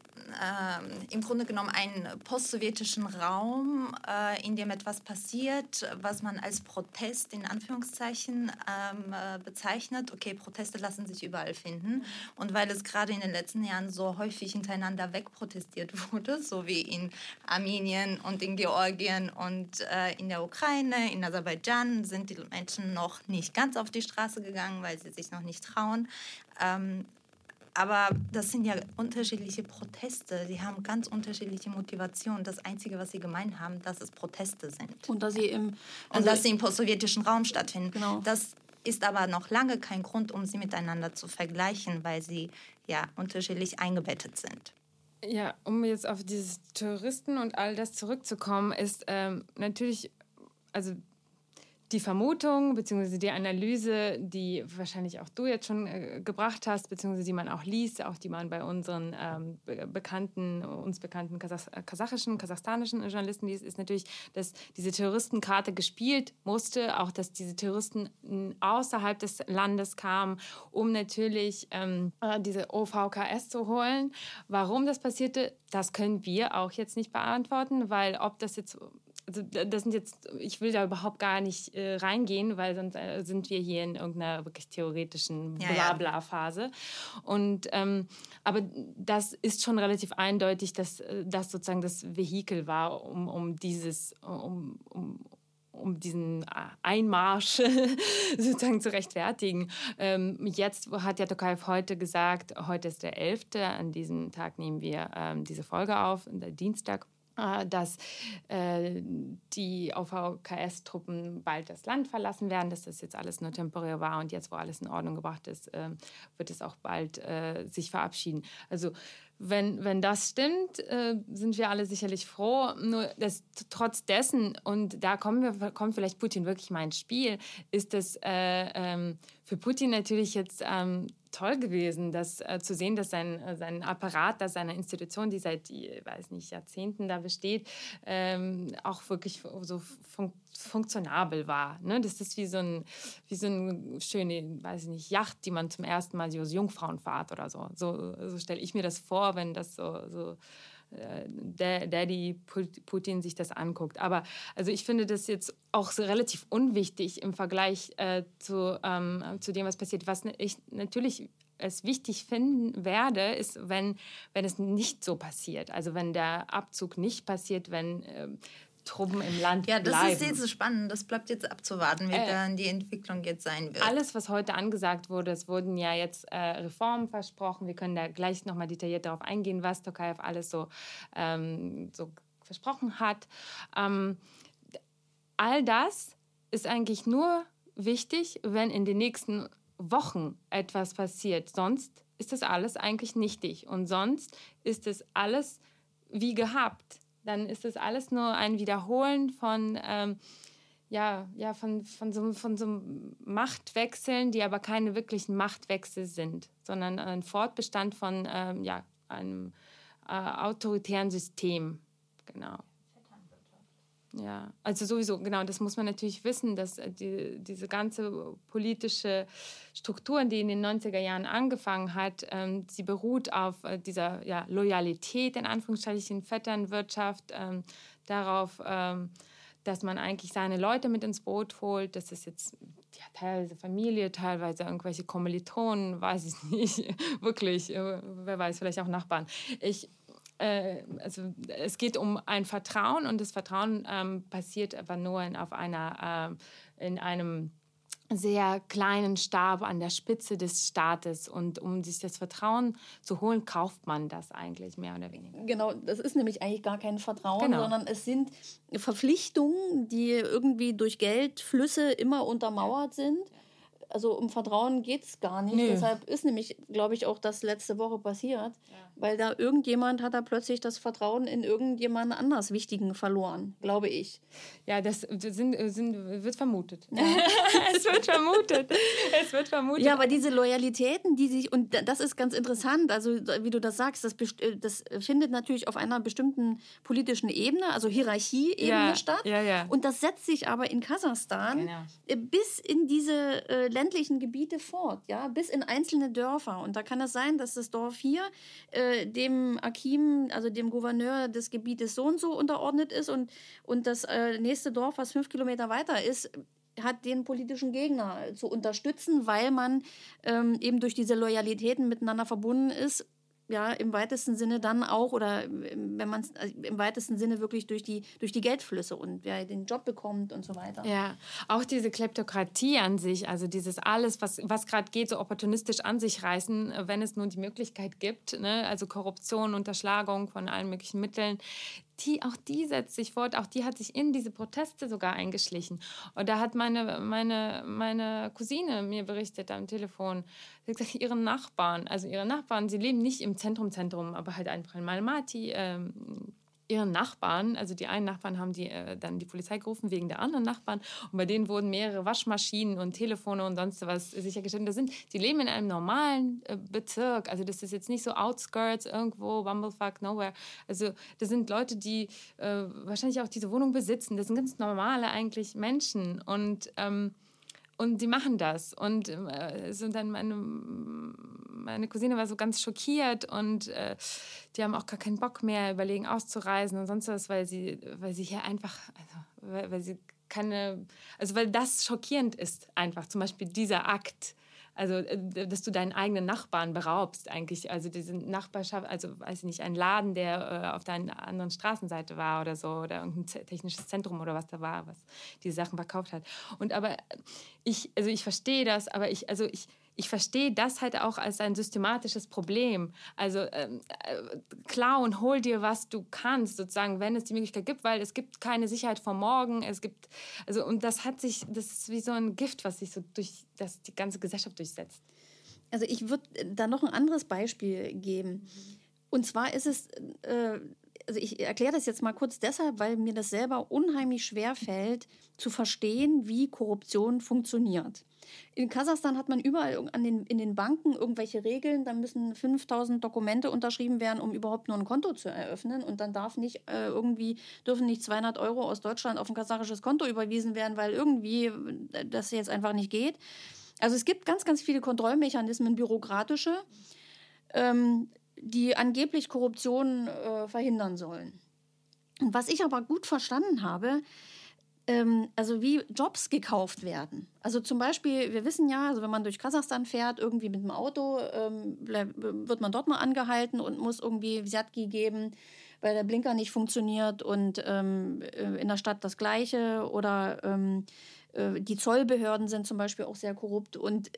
Speaker 7: Äh, im Grunde genommen einen postsowjetischen Raum, äh, in dem etwas passiert, was man als Protest in Anführungszeichen ähm, äh, bezeichnet. Okay, Proteste lassen sich überall finden. Und weil es gerade in den letzten Jahren so häufig hintereinander wegprotestiert wurde, so wie in Armenien und in Georgien und äh, in der Ukraine, in Aserbaidschan, sind die Menschen noch nicht ganz auf die Straße gegangen, weil sie sich noch nicht trauen. Ähm, Aber das sind ja unterschiedliche Proteste. Die haben ganz unterschiedliche Motivationen. Das Einzige, was sie gemein haben, dass es Proteste sind.
Speaker 6: Und dass sie im, also
Speaker 7: und dass sie im postsowjetischen Raum stattfinden.
Speaker 6: Genau.
Speaker 7: Das ist aber noch lange kein Grund, um sie miteinander zu vergleichen, weil sie ja unterschiedlich eingebettet sind.
Speaker 1: Ja, um jetzt auf dieses Touristen und all das zurückzukommen, ist ähm, natürlich, also die Vermutung bzw. die Analyse, die wahrscheinlich auch du jetzt schon äh, gebracht hast, beziehungsweise die man auch liest, auch die man bei unseren ähm, be- bekannten, uns bekannten Kasach- kasachischen, kasachstanischen Journalisten liest, ist natürlich, dass diese Terroristenkarte gespielt musste, auch dass diese Terroristen außerhalb des Landes kamen, um natürlich ähm, diese O V K S zu holen. Warum das passierte, das können wir auch jetzt nicht beantworten, weil ob das jetzt Also das sind jetzt, ich will da überhaupt gar nicht äh, reingehen, weil sonst äh, sind wir hier in irgendeiner wirklich theoretischen Blabla-Phase. Und ähm, aber das ist schon relativ eindeutig, dass das sozusagen das Vehikel war, um, um dieses, um, um um diesen Einmarsch sozusagen zu rechtfertigen. Ähm, jetzt hat ja Tokayev heute gesagt, heute ist der elfte, an diesem Tag nehmen wir ähm, diese Folge auf, der Dienstag, dass äh, die O V K S-Truppen bald das Land verlassen werden, dass das jetzt alles nur temporär war und jetzt, wo alles in Ordnung gebracht ist, äh, wird es auch bald äh, sich verabschieden. Also wenn, wenn das stimmt, äh, sind wir alle sicherlich froh. Nur dass, trotz dessen, und da kommen wir, kommt vielleicht Putin wirklich mal ins Spiel, ist es äh, ähm, für Putin natürlich jetzt ähm, toll gewesen, das äh, zu sehen, dass sein, äh, sein Apparat, dass seine Institution, die seit, ich weiß nicht, Jahrzehnten da besteht, ähm, auch wirklich so fun- funktionabel war. Ne? Das ist wie so ein, wie so eine schöne, weiß ich nicht, Yacht, die man zum ersten Mal so als Jungfrauenfahrt oder so. So, so stelle ich mir das vor, wenn das so, so Der, Daddy Putin sich das anguckt. Aber also ich finde das jetzt auch so relativ unwichtig im Vergleich äh, zu, ähm, zu dem, was passiert. Was ich natürlich es wichtig finden werde, ist, wenn, wenn es nicht so passiert. Also wenn der Abzug nicht passiert, wenn äh, Truppen im Land
Speaker 7: ja, das
Speaker 1: bleiben.
Speaker 7: ist jetzt so spannend. Das bleibt jetzt abzuwarten, wie äh, dann die Entwicklung jetzt sein wird.
Speaker 1: Alles, was heute angesagt wurde, es wurden ja jetzt äh, Reformen versprochen. Wir können da gleich nochmal detailliert darauf eingehen, was Tokayev alles so, ähm, so versprochen hat. Ähm, all das ist eigentlich nur wichtig, wenn in den nächsten Wochen etwas passiert. Sonst ist das alles eigentlich nichtig. Und sonst ist es alles wie gehabt. Dann ist das alles nur ein Wiederholen von, ähm, ja, ja, von, von, so, von so Machtwechseln, die aber keine wirklichen Machtwechsel sind, sondern ein Fortbestand von ähm, ja, einem äh, autoritären System. Genau. Ja, also sowieso, genau, das muss man natürlich wissen, dass die, diese ganze politische Struktur, die in den neunziger Jahren angefangen hat, ähm, sie beruht auf äh, dieser ja, Loyalität, in Anführungsstrichen, Vetternwirtschaft, ähm, darauf, ähm, dass man eigentlich seine Leute mit ins Boot holt. Das ist jetzt ja, teilweise Familie, teilweise irgendwelche Kommilitonen, weiß ich nicht, wirklich, äh, wer weiß, vielleicht auch Nachbarn. Ich Also es geht um ein Vertrauen und das Vertrauen ähm, passiert aber nur in, auf einer, äh, in einem sehr kleinen Stab an der Spitze des Staates. Und um sich das Vertrauen zu holen, kauft man das eigentlich mehr oder weniger.
Speaker 6: Genau, das ist nämlich eigentlich gar kein Vertrauen,
Speaker 1: genau.
Speaker 6: sondern es sind Verpflichtungen, die irgendwie durch Geldflüsse immer untermauert sind. Also um Vertrauen geht es gar nicht. Nee. Deshalb ist nämlich, glaube ich, auch das letzte Woche passiert, ja. weil da irgendjemand hat da plötzlich das Vertrauen in irgendjemand anders Wichtigen verloren, glaube ich.
Speaker 1: Ja, das sind, sind, wird vermutet. Ja. es wird vermutet. Es wird vermutet.
Speaker 6: Ja, aber diese Loyalitäten, die sich, und das ist ganz interessant, also wie du das sagst, das, das findet natürlich auf einer bestimmten politischen Ebene, also Hierarchieebene
Speaker 1: ja.
Speaker 6: statt.
Speaker 1: Ja, ja.
Speaker 6: Und das setzt sich aber in Kasachstan genau. bis in diese äh, ländlichen Gebiete fort, ja, bis in einzelne Dörfer. Und da kann es sein, dass das Dorf hier äh, dem Akim, also dem Gouverneur des Gebietes so und so unterordnet ist und, und das äh, nächste Dorf, was fünf Kilometer weiter ist, hat den politischen Gegner zu unterstützen, weil man ähm, eben durch diese Loyalitäten miteinander verbunden ist, ja, im weitesten Sinne dann auch, oder wenn man es also im weitesten Sinne wirklich durch die, durch die Geldflüsse und wer den Job bekommt und so weiter.
Speaker 1: Ja, auch diese Kleptokratie an sich, also dieses alles, was, was gerade geht, so opportunistisch an sich reißen, wenn es nur die Möglichkeit gibt, ne? Also Korruption, Unterschlagung von allen möglichen Mitteln, die, auch die setzt sich fort, auch die hat sich in diese Proteste sogar eingeschlichen. Und da hat meine, meine, meine Cousine mir berichtet am Telefon, sie hat gesagt, ihre Nachbarn, also ihre Nachbarn, sie leben nicht im Zentrum, Zentrum, aber halt einfach in Almaty, ähm, ihren Nachbarn, also die einen Nachbarn haben die, äh, dann die Polizei gerufen wegen der anderen Nachbarn und bei denen wurden mehrere Waschmaschinen und Telefone und sonst was sichergestellt. Das sind, die leben in einem normalen äh, Bezirk, also das ist jetzt nicht so Outskirts irgendwo, Bumblefuck, nowhere. Also das sind Leute, die äh, wahrscheinlich auch diese Wohnung besitzen. Das sind ganz normale eigentlich Menschen und ähm, Und die machen das. Und äh, so dann meine, meine Cousine war so ganz schockiert und äh, die haben auch gar keinen Bock mehr, überlegen auszureisen und sonst was, weil sie, weil sie hier einfach, also, weil, weil sie keine, also weil das schockierend ist einfach, zum Beispiel dieser Akt. Also, dass du deinen eigenen Nachbarn beraubst eigentlich. Also diese Nachbarschaft, also weiß ich nicht, ein Laden, der äh, auf der anderen Straßenseite war oder so, oder irgendein technisches Zentrum oder was da war, was diese Sachen verkauft hat. Und aber ich, also ich verstehe das, aber ich, also ich, ich verstehe das halt auch als ein systematisches Problem. Also ähm, äh, klar und hol dir, was du kannst, sozusagen, wenn es die Möglichkeit gibt, weil es gibt keine Sicherheit vor morgen. Es gibt, also, und das hat sich, das ist wie so ein Gift, was sich so durch das, die ganze Gesellschaft durchsetzt.
Speaker 6: Also ich würde da noch ein anderes Beispiel geben. Und zwar ist es, äh, also ich erkläre das jetzt mal kurz deshalb, weil mir das selber unheimlich schwer fällt, zu verstehen, wie Korruption funktioniert. In Kasachstan hat man überall an den, in den Banken irgendwelche Regeln, da müssen fünftausend Dokumente unterschrieben werden, um überhaupt nur ein Konto zu eröffnen, und dann darf nicht äh, irgendwie, dürfen nicht zweihundert Euro aus Deutschland auf ein kasachisches Konto überwiesen werden, weil irgendwie das jetzt einfach nicht geht. Also es gibt ganz, ganz viele Kontrollmechanismen, bürokratische, ähm, die angeblich Korruption äh, verhindern sollen. Und was ich aber gut verstanden habe, ähm, also wie Jobs gekauft werden. Also zum Beispiel, wir wissen ja, also wenn man durch Kasachstan fährt, irgendwie mit dem Auto, ähm, wird man dort mal angehalten und muss irgendwie Vzjatki geben, weil der Blinker nicht funktioniert, und ähm, in der Stadt das Gleiche, oder ähm, die Zollbehörden sind zum Beispiel auch sehr korrupt. Und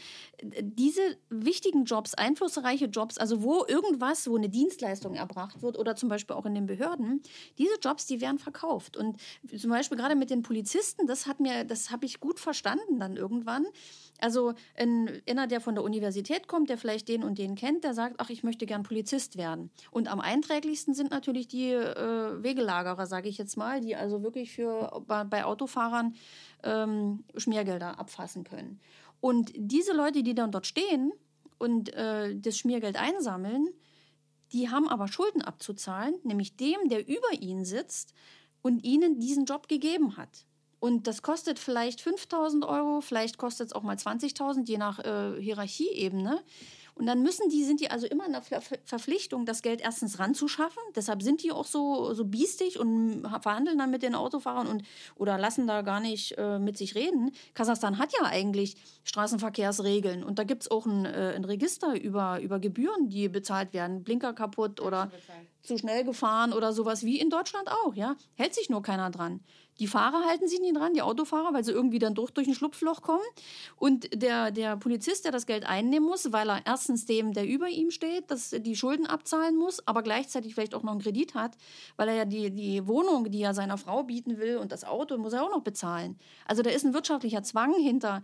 Speaker 6: diese wichtigen Jobs, einflussreiche Jobs, also wo irgendwas, wo eine Dienstleistung erbracht wird, oder zum Beispiel auch in den Behörden, diese Jobs, die werden verkauft. Und zum Beispiel gerade mit den Polizisten, das hat mir, das habe ich gut verstanden dann irgendwann. Also ein, einer, der von der Universität kommt, der vielleicht den und den kennt, der sagt, ach, ich möchte gern Polizist werden. Und am einträglichsten sind natürlich die äh, Wegelagerer, sage ich jetzt mal, die also wirklich für, bei, bei Autofahrern ähm, Schmiergelder abfassen können. Und diese Leute, die dann dort stehen und äh, das Schmiergeld einsammeln, die haben aber Schulden abzuzahlen, nämlich dem, der über ihnen sitzt, und ihnen diesen Job gegeben hat. Und das kostet vielleicht fünftausend Euro, vielleicht kostet es auch mal zwanzigtausend, je nach äh, Hierarchieebene. Und dann müssen die, sind die also immer in der Ver- Verpflichtung, das Geld erstens ranzuschaffen. Deshalb sind die auch so, so biestig und verhandeln dann mit den Autofahrern und, oder lassen da gar nicht äh, mit sich reden. Kasachstan hat ja eigentlich Straßenverkehrsregeln. Und da gibt es auch ein, äh, ein Register über, über Gebühren, die bezahlt werden. Blinker kaputt oder zu schnell gefahren oder sowas, wie in Deutschland auch. Ja? Hält sich nur keiner dran. Die Fahrer halten sich nie dran, die Autofahrer, weil sie irgendwie dann durch, durch ein Schlupfloch kommen. Und der, der Polizist, der das Geld einnehmen muss, weil er erstens dem, der über ihm steht, das, die Schulden abzahlen muss, aber gleichzeitig vielleicht auch noch einen Kredit hat, weil er ja die, die Wohnung, die er seiner Frau bieten will und das Auto, muss er auch noch bezahlen. Also da ist ein wirtschaftlicher Zwang hinter.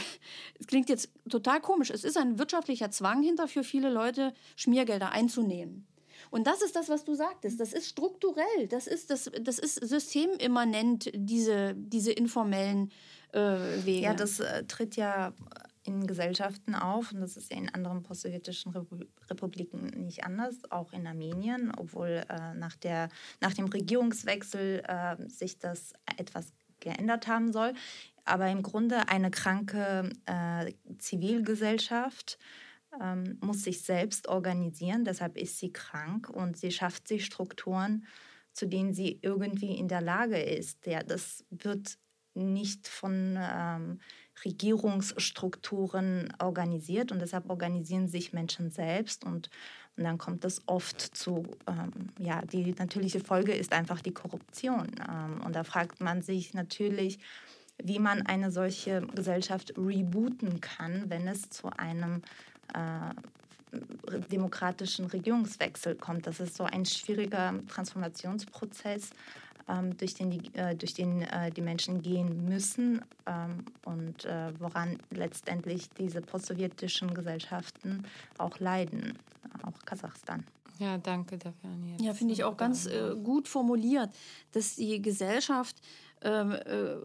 Speaker 6: Es klingt jetzt total komisch. Es ist ein wirtschaftlicher Zwang hinter für viele Leute, Schmiergelder einzunehmen. Und das ist das, was du sagtest. Das ist strukturell. Das ist, das, das ist systemimmanent, diese, diese informellen äh, Wege.
Speaker 7: Ja, das äh, tritt ja in Gesellschaften auf. Und das ist ja in anderen postsowjetischen Repu- Republiken nicht anders. Auch in Armenien, obwohl äh, nach, der, nach dem Regierungswechsel äh, sich das etwas geändert haben soll. Aber im Grunde eine kranke äh, Zivilgesellschaft Ähm, muss sich selbst organisieren, deshalb ist sie krank und sie schafft sich Strukturen, zu denen sie irgendwie in der Lage ist. Ja, das wird nicht von ähm, Regierungsstrukturen organisiert und deshalb organisieren sich Menschen selbst und, und dann kommt es oft zu, ähm, ja, die natürliche Folge ist einfach die Korruption. Ähm, und da fragt man sich natürlich, wie man eine solche Gesellschaft rebooten kann, wenn es zu einem Äh, demokratischen Regierungswechsel kommt. Das ist so ein schwieriger Transformationsprozess, ähm, durch den, die, äh, durch den äh, die Menschen gehen müssen ähm, und äh, woran letztendlich diese postsowjetischen Gesellschaften auch leiden, auch Kasachstan.
Speaker 1: Ja, danke dafür, Anja.
Speaker 6: Ja, finde ich auch ganz äh, gut formuliert, dass die Gesellschaft ähm, äh,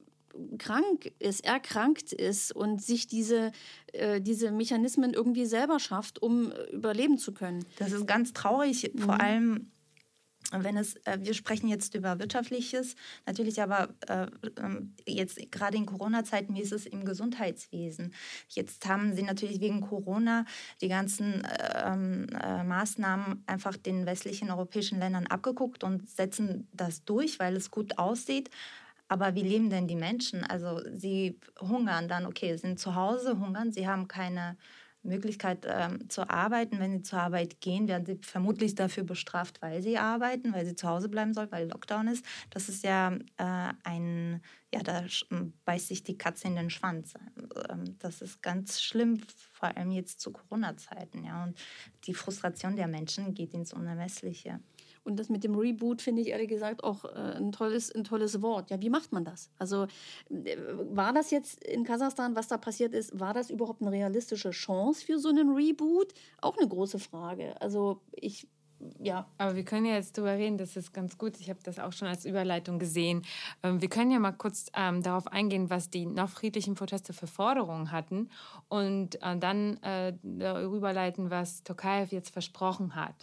Speaker 6: krank ist, erkrankt ist und sich diese, äh, diese Mechanismen irgendwie selber schafft, um äh, überleben zu können.
Speaker 7: Das ist ganz traurig, mhm. vor allem wenn es, äh, wir sprechen jetzt über Wirtschaftliches, natürlich aber äh, jetzt gerade in Corona-Zeiten, wie ist es im Gesundheitswesen? Jetzt haben sie natürlich wegen Corona die ganzen äh, äh, Maßnahmen einfach den westlichen europäischen Ländern abgeguckt und setzen das durch, weil es gut aussieht. Aber wie leben denn die Menschen? Also sie hungern dann, okay, sind zu Hause, hungern, sie haben keine Möglichkeit ähm, zu arbeiten. Wenn sie zur Arbeit gehen, werden sie vermutlich dafür bestraft, weil sie arbeiten, weil sie zu Hause bleiben sollen, weil Lockdown ist. Das ist ja äh, ein, ja, da beißt sich die Katze in den Schwanz. Ähm, das ist ganz schlimm, vor allem jetzt zu Corona-Zeiten. Ja. Und die Frustration der Menschen geht ins Unermessliche.
Speaker 6: Und das mit dem Reboot finde ich ehrlich gesagt auch äh, ein, tolles, ein tolles Wort. Ja, wie macht man das? Also äh, war das jetzt in Kasachstan, was da passiert ist, war das überhaupt eine realistische Chance für so einen Reboot? Auch eine große Frage. Also ich, ja.
Speaker 1: Aber wir können ja jetzt drüber reden, das ist ganz gut. Ich habe das auch schon als Überleitung gesehen. Ähm, wir können ja mal kurz ähm, darauf eingehen, was die noch friedlichen Proteste für Forderungen hatten und äh, dann äh, darüber leiten, was Tokayev jetzt versprochen hat.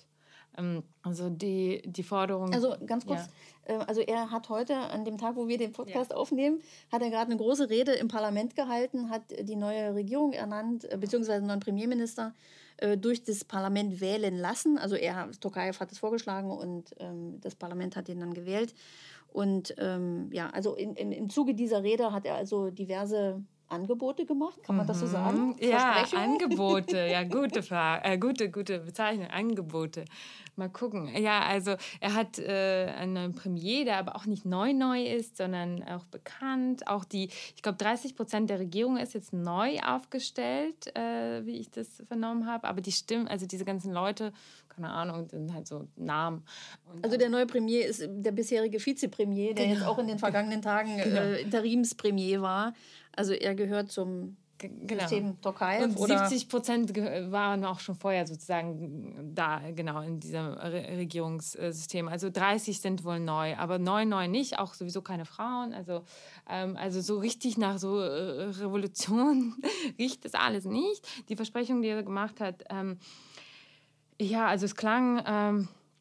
Speaker 1: Also die, die Forderung...
Speaker 6: Also ganz kurz, ja. Also er hat heute, an dem Tag, wo wir den Podcast ja. aufnehmen, hat er gerade eine große Rede im Parlament gehalten, hat die neue Regierung ernannt, beziehungsweise einen neuen Premierminister durch das Parlament wählen lassen. Also er, Tokayev hat es vorgeschlagen und ähm, das Parlament hat ihn dann gewählt. Und ähm, ja, also in, in, im Zuge dieser Rede hat er also diverse Angebote gemacht, kann man das so sagen?
Speaker 1: Ja, Angebote, ja, gute Frage, äh, gute, gute Bezeichnung, Angebote. Mal gucken. Ja, also er hat äh, einen neuen Premier, der aber auch nicht neu neu ist, sondern auch bekannt. Auch die, ich glaube, dreißig Prozent der Regierung ist jetzt neu aufgestellt, äh, wie ich das vernommen habe. Aber die Stimmen, also diese ganzen Leute, keine Ahnung, sind halt so Namen. Und
Speaker 6: also der neue Premier ist der bisherige Vizepremier, der genau. jetzt auch in den vergangenen Tagen genau. äh, Interimspremier war. Also er gehört zum genau. System Tokayev.
Speaker 1: Und oder? siebzig Prozent waren auch schon vorher sozusagen da, genau, in diesem Re- Regierungssystem. Also dreißig sind wohl neu, aber neu, neu nicht, auch sowieso keine Frauen. Also, ähm, also so richtig nach so äh, Revolution riecht das alles nicht. Die Versprechung, die er gemacht hat, ähm, ja, also es klang... Ähm,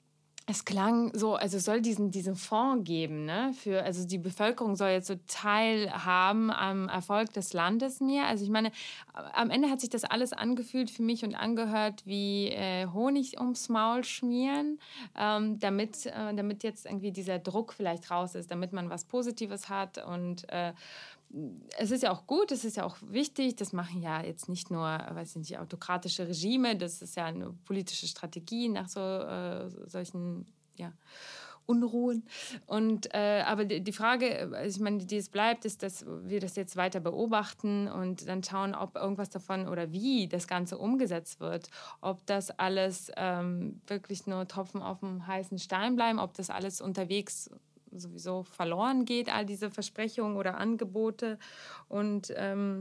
Speaker 1: es klang so, also soll diesen, diesen Fonds geben, ne? Für, also die Bevölkerung soll jetzt so teilhaben am Erfolg des Landes mehr. Also ich meine, am Ende hat sich das alles angefühlt für mich und angehört wie äh, Honig ums Maul schmieren, ähm, damit, äh, damit jetzt irgendwie dieser Druck vielleicht raus ist, damit man was Positives hat. Und äh, es ist ja auch gut, es ist ja auch wichtig, das machen ja jetzt nicht nur, weiß ich nicht, autokratische Regime, das ist ja eine politische Strategie nach so äh, solchen, ja, Unruhen. Und, äh, aber die, die Frage, also ich meine, die es bleibt, ist, dass wir das jetzt weiter beobachten und dann schauen, ob irgendwas davon oder wie das Ganze umgesetzt wird. Ob das alles ähm, wirklich nur Tropfen auf dem heißen Stein bleiben, ob das alles unterwegs sowieso verloren geht, all diese Versprechungen oder Angebote. Und ähm,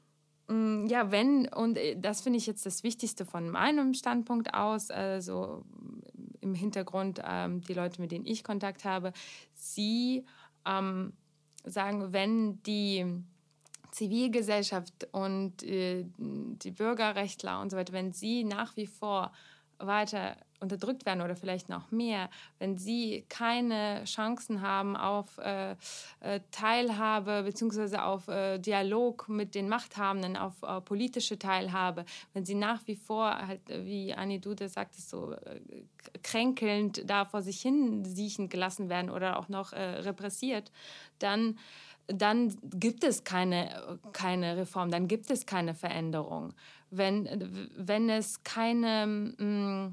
Speaker 1: ja, wenn, und das finde ich jetzt das Wichtigste von meinem Standpunkt aus, also im Hintergrund ähm, die Leute, mit denen ich Kontakt habe, sie ähm, sagen, wenn die Zivilgesellschaft und äh, die Bürgerrechtler und so weiter, wenn sie nach wie vor weiter unterdrückt werden oder vielleicht noch mehr, wenn sie keine Chancen haben auf äh, äh, Teilhabe beziehungsweise auf äh, Dialog mit den Machthabenden, auf äh, politische Teilhabe, wenn sie nach wie vor, halt, wie Annie Dude sagt, so äh, kränkelnd da vor sich hin siechen gelassen werden oder auch noch äh, repressiert, dann dann gibt es keine, keine Reform, dann gibt es keine Veränderung. Wenn, wenn es keine mh,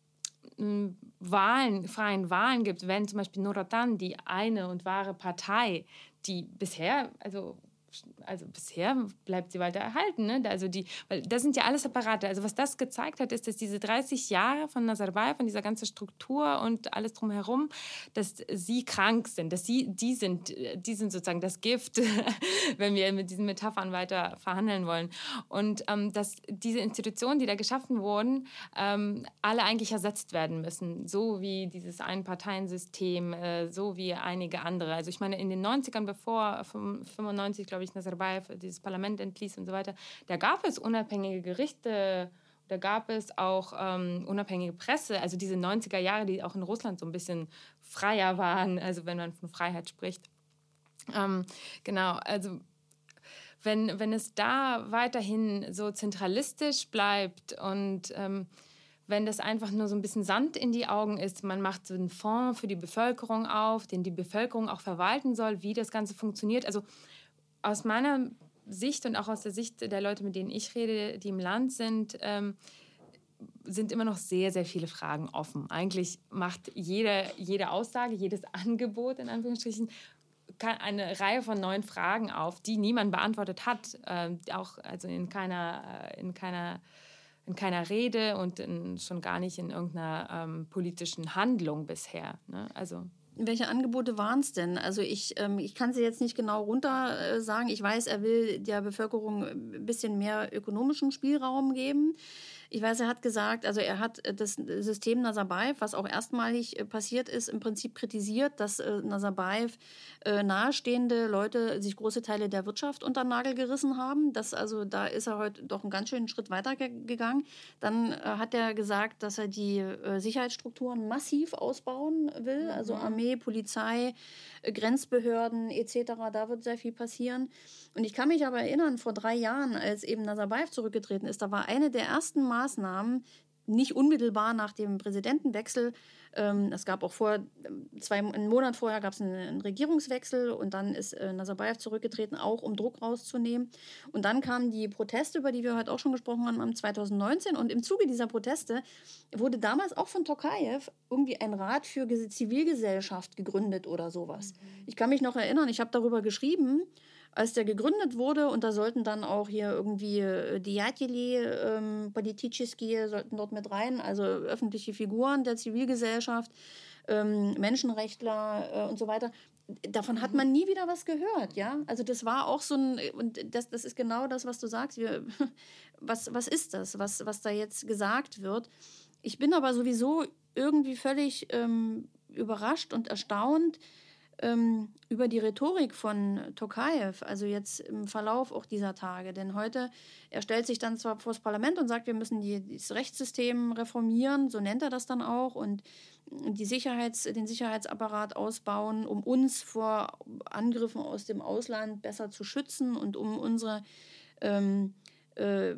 Speaker 1: mh, Wahlen, freien Wahlen gibt, wenn zum Beispiel Nur Otan, die eine und wahre Partei, die bisher, also also bisher bleibt sie weiter erhalten, ne? Also die, weil das sind ja alles Apparate. Also was das gezeigt hat, ist, dass diese dreißig Jahre von Nazarbayev, von dieser ganzen Struktur und alles drumherum, dass sie krank sind, dass sie, die sind, die sind sozusagen das Gift, wenn wir mit diesen Metaphern weiter verhandeln wollen. Und ähm, dass diese Institutionen, die da geschaffen wurden, ähm, alle eigentlich ersetzt werden müssen, so wie dieses Einparteiensystem, äh, so wie einige andere. Also ich meine, in den neunzigern, bevor fünfundneunzig, glaube ich, Nazarbayev dieses Parlament entließ und so weiter, da gab es unabhängige Gerichte, da gab es auch ähm, unabhängige Presse, also diese neunziger Jahre, die auch in Russland so ein bisschen freier waren, also wenn man von Freiheit spricht. Ähm, genau, also wenn, wenn es da weiterhin so zentralistisch bleibt und ähm, wenn das einfach nur so ein bisschen Sand in die Augen ist, man macht so einen Fonds für die Bevölkerung auf, den die Bevölkerung auch verwalten soll, wie das Ganze funktioniert. Also aus meiner Sicht und auch aus der Sicht der Leute, mit denen ich rede, die im Land sind, ähm, sind immer noch sehr, sehr viele Fragen offen. Eigentlich macht jede, jede Aussage, jedes Angebot, in Anführungsstrichen, eine Reihe von neuen Fragen auf, die niemand beantwortet hat. Ähm, auch also in keiner, in keiner, in keiner Rede und in, schon gar nicht in irgendeiner ähm, politischen Handlung bisher. Ne? Also
Speaker 6: welche Angebote waren es denn? Also ich, ähm, ich kann sie jetzt nicht genau runter äh, sagen. Ich weiß, er will der Bevölkerung ein bisschen mehr ökonomischen Spielraum geben. Ich weiß, er hat gesagt, also er hat das System Nazarbayev, was auch erstmalig passiert ist, im Prinzip kritisiert, dass äh, Nazarbayev äh, nahestehende Leute sich große Teile der Wirtschaft unter den Nagel gerissen haben. Das, also da ist er heute doch einen ganz schönen Schritt weiter ge- gegangen. Dann äh, hat er gesagt, dass er die äh, Sicherheitsstrukturen massiv ausbauen will, mhm. also Armee, Polizei, äh, Grenzbehörden et cetera. Da wird sehr viel passieren. Und ich kann mich aber erinnern, vor drei Jahren, als eben Nazarbayev zurückgetreten ist, da war eine der ersten Maßnahmen, nicht unmittelbar nach dem Präsidentenwechsel, ähm, es gab auch vor, zwei, einen Monat vorher gab es einen, einen Regierungswechsel und dann ist äh, Nazarbayev zurückgetreten, auch um Druck rauszunehmen. Und dann kamen die Proteste, über die wir heute auch schon gesprochen haben, im zweitausendneunzehn. Und im Zuge dieser Proteste wurde damals auch von Tokayev irgendwie ein Rat für Zivilgesellschaft gegründet oder sowas. Mhm. Ich kann mich noch erinnern, ich habe darüber geschrieben, als der gegründet wurde, und da sollten dann auch hier irgendwie Deятели, ähm, Politischski sollten dort mit rein, also öffentliche Figuren der Zivilgesellschaft, ähm, Menschenrechtler äh, und so weiter. Davon hat man nie wieder was gehört, ja. Also das war auch so ein, und das, das ist genau das, was du sagst. Wir, was, was ist das, was, was da jetzt gesagt wird? Ich bin aber sowieso irgendwie völlig ähm, überrascht und erstaunt, ähm, über die Rhetorik von Tokayev, also jetzt im Verlauf auch dieser Tage. Denn heute, er stellt sich dann zwar vor das Parlament und sagt, wir müssen die, das Rechtssystem reformieren, so nennt er das dann auch, und die Sicherheits, den Sicherheitsapparat ausbauen, um uns vor Angriffen aus dem Ausland besser zu schützen und um unsere ähm, äh,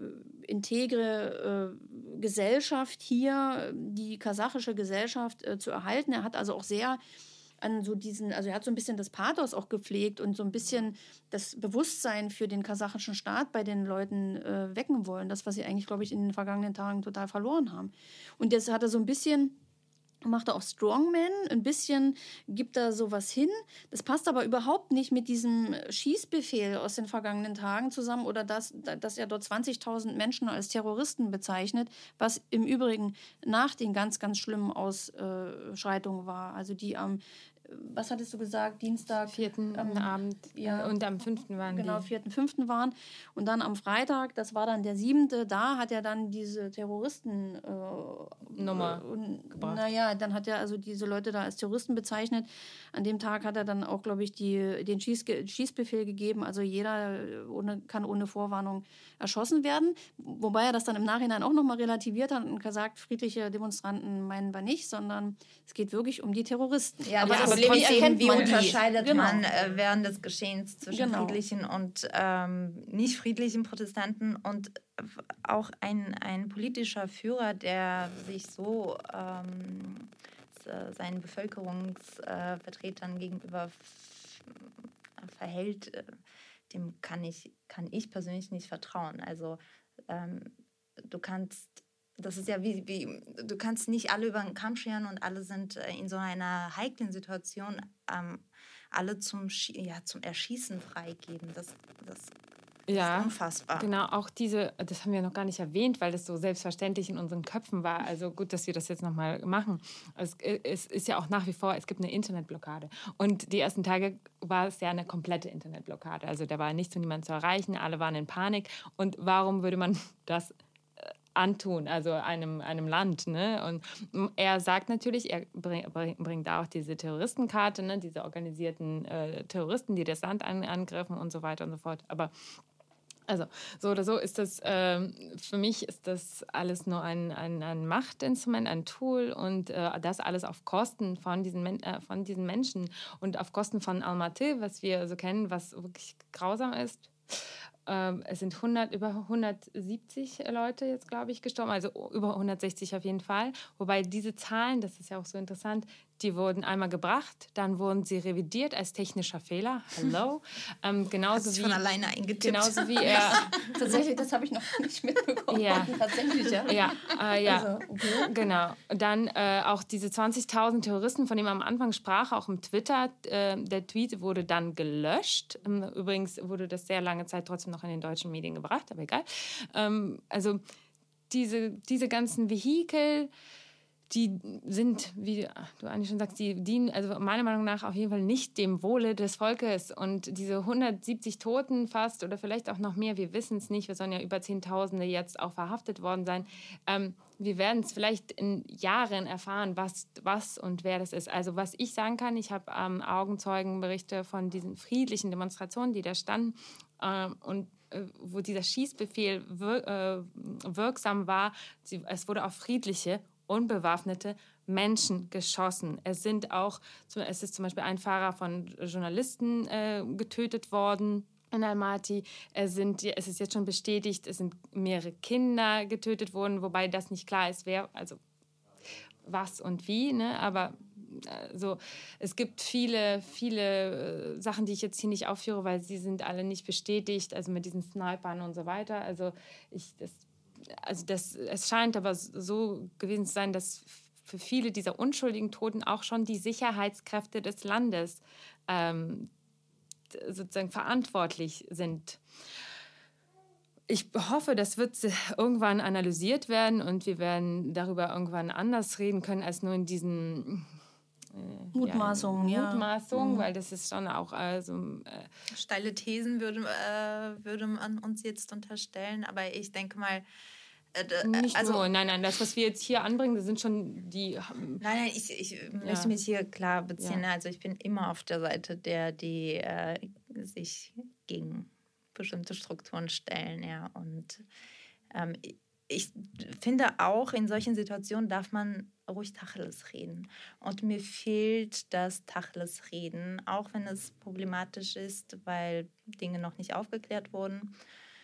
Speaker 6: integre äh, Gesellschaft hier, die kasachische Gesellschaft, äh, zu erhalten. Er hat also auch sehr an so diesen, also er hat so ein bisschen das Pathos auch gepflegt und so ein bisschen das Bewusstsein für den kasachischen Staat bei den Leuten äh, wecken wollen. Das, was sie eigentlich, glaube ich, in den vergangenen Tagen total verloren haben. Und jetzt hat er so ein bisschen, macht er auch Strongman, ein bisschen gibt er sowas hin. Das passt aber überhaupt nicht mit diesem Schießbefehl aus den vergangenen Tagen zusammen oder dass, dass er dort zwanzigtausend Menschen als Terroristen bezeichnet, was im Übrigen nach den ganz, ganz schlimmen Ausschreitungen war. Also die am, was hattest du gesagt, Dienstag?
Speaker 1: Vierten
Speaker 6: am
Speaker 1: Abend
Speaker 6: ja,
Speaker 1: und am fünften waren
Speaker 6: genau,
Speaker 1: die.
Speaker 6: vierten, fünften waren. Und dann am Freitag, das war dann der siebte, da hat er dann diese Terroristen äh,
Speaker 1: Nummer
Speaker 6: äh,
Speaker 1: gebracht.
Speaker 6: Naja, dann hat er also diese Leute da als Terroristen bezeichnet. An dem Tag hat er dann auch, glaube ich, die, den Schieß, Schießbefehl gegeben. Also jeder ohne, kann ohne Vorwarnung erschossen werden. Wobei er das dann im Nachhinein auch nochmal relativiert hat und gesagt, friedliche Demonstranten meinen wir nicht, sondern es geht wirklich um die Terroristen.
Speaker 7: Ja,
Speaker 6: aber
Speaker 7: das
Speaker 6: das
Speaker 7: Problem ist eben, wie
Speaker 6: man
Speaker 7: unterscheidet
Speaker 6: genau.
Speaker 7: man äh, während des Geschehens zwischen
Speaker 6: genau.
Speaker 7: friedlichen und ähm, nicht friedlichen Protestanten und auch ein, ein politischer Führer, der sich so ähm, seinen Bevölkerungsvertretern äh, gegenüber f- verhält, äh, dem kann ich, kann ich persönlich nicht vertrauen. Also ähm, du kannst Das ist ja wie, wie, du kannst nicht alle über den Kamm scheren und alle sind in so einer heiklen Situation, ähm, alle zum, ja, zum Erschießen freigeben. Das, das
Speaker 1: ja,
Speaker 7: ist unfassbar.
Speaker 1: Genau, auch diese, das haben wir noch gar nicht erwähnt, weil das so selbstverständlich in unseren Köpfen war. Also gut, dass wir das jetzt nochmal machen. Es, es ist ja auch nach wie vor, es gibt eine Internetblockade. Und die ersten Tage war es ja eine komplette Internetblockade. Also da war nichts und niemand zu erreichen, alle waren in Panik. Und warum würde man das antun, also einem, einem Land. Ne? Und er sagt natürlich, er bring, bringt da auch diese Terroristenkarte, ne? Diese organisierten äh, Terroristen, die das Land an, angriffen und so weiter und so fort. Aber also so oder so ist das, äh, für mich ist das alles nur ein, ein, ein Machtinstrument, ein Tool und äh, das alles auf Kosten von diesen, Men- äh, von diesen Menschen und auf Kosten von Almaty, was wir so kennen, was wirklich grausam ist. Es sind hundert, über hundertsiebzig Leute jetzt, glaube ich, gestorben, also über hundertsechzig auf jeden Fall. Wobei diese Zahlen, das ist ja auch so interessant, die wurden einmal gebracht, dann wurden sie revidiert als technischer Fehler. Hallo. Ähm, genauso
Speaker 7: Hast
Speaker 1: wie
Speaker 7: von alleine eingetippt.
Speaker 1: Genauso wie er.
Speaker 6: Tatsächlich, das habe ich noch nicht mitbekommen.
Speaker 1: Ja.
Speaker 6: Tatsächlich, ja.
Speaker 1: Ja, äh, ja.
Speaker 6: Also, okay.
Speaker 1: Genau. Dann äh, auch diese zwanzigtausend Terroristen, von denen man am Anfang sprach, auch im Twitter. Äh, der Tweet wurde dann gelöscht. Ähm, übrigens wurde das sehr lange Zeit trotzdem noch in den deutschen Medien gebracht, aber egal. Ähm, also diese, diese ganzen Vehikel, die sind, wie du eigentlich schon sagst, die dienen also meiner Meinung nach auf jeden Fall nicht dem Wohle des Volkes. Und diese hundertsiebzig Toten fast oder vielleicht auch noch mehr, wir wissen es nicht, wir sollen ja über Zehntausende jetzt auch verhaftet worden sein. Ähm, wir werden es vielleicht in Jahren erfahren, was, was und wer das ist. Also was ich sagen kann, ich habe ähm, Augenzeugenberichte von diesen friedlichen Demonstrationen, die da standen ähm, und äh, wo dieser Schießbefehl wir, äh, wirksam war. Sie, es wurde auf friedliche unbewaffnete Menschen geschossen. Es sind auch, es ist zum Beispiel ein Fahrer von Journalisten äh, getötet worden in Almaty. Es, sind, es ist jetzt schon bestätigt, es sind mehrere Kinder getötet worden, wobei das nicht klar ist, wer, also was und wie, ne? Aber also, es gibt viele, viele äh, Sachen, die ich jetzt hier nicht aufführe, weil sie sind alle nicht bestätigt, also mit diesen Snipern und so weiter. Also ich, das Also das, es scheint aber so gewesen zu sein, dass für viele dieser unschuldigen Toten auch schon die Sicherheitskräfte des Landes ähm, sozusagen verantwortlich sind. Ich hoffe, das wird irgendwann analysiert werden und wir werden darüber irgendwann anders reden können als nur in diesen
Speaker 6: äh, Mutmaßungen.
Speaker 1: Ja, Mutmaßungen,
Speaker 6: ja.
Speaker 1: weil das ist schon auch also, äh,
Speaker 7: steile Thesen würde, äh, würde man uns jetzt unterstellen, aber ich denke mal, Äh,
Speaker 1: Nicht
Speaker 7: also,
Speaker 1: nur, nein, nein, das, was wir jetzt hier anbringen, das sind schon die...
Speaker 7: Nein, nein, ich, ich ja. möchte mich hier klar beziehen. Ja. Also ich bin immer auf der Seite der, die äh, sich gegen bestimmte Strukturen stellen, ja. Und ähm, ich finde auch, in solchen Situationen darf man ruhig Tacheles reden. Und mir fehlt das Tacheles reden, auch wenn es problematisch ist, weil Dinge noch nicht aufgeklärt wurden.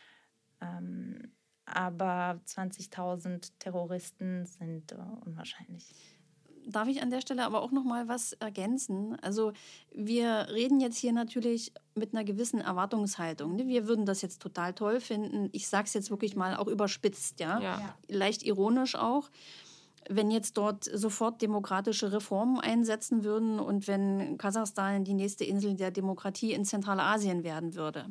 Speaker 7: Ähm, aber zwanzigtausend Terroristen sind uh, unwahrscheinlich.
Speaker 6: Darf ich an der Stelle aber auch noch mal was ergänzen? Also wir reden jetzt hier natürlich mit einer gewissen Erwartungshaltung. Ne? Wir würden das jetzt total toll finden. Ich sage es jetzt wirklich mal auch überspitzt, ja? Ja. Leicht ironisch auch. Wenn jetzt dort sofort demokratische Reformen einsetzen würden und wenn Kasachstan die nächste Insel der Demokratie in Zentralasien werden würde.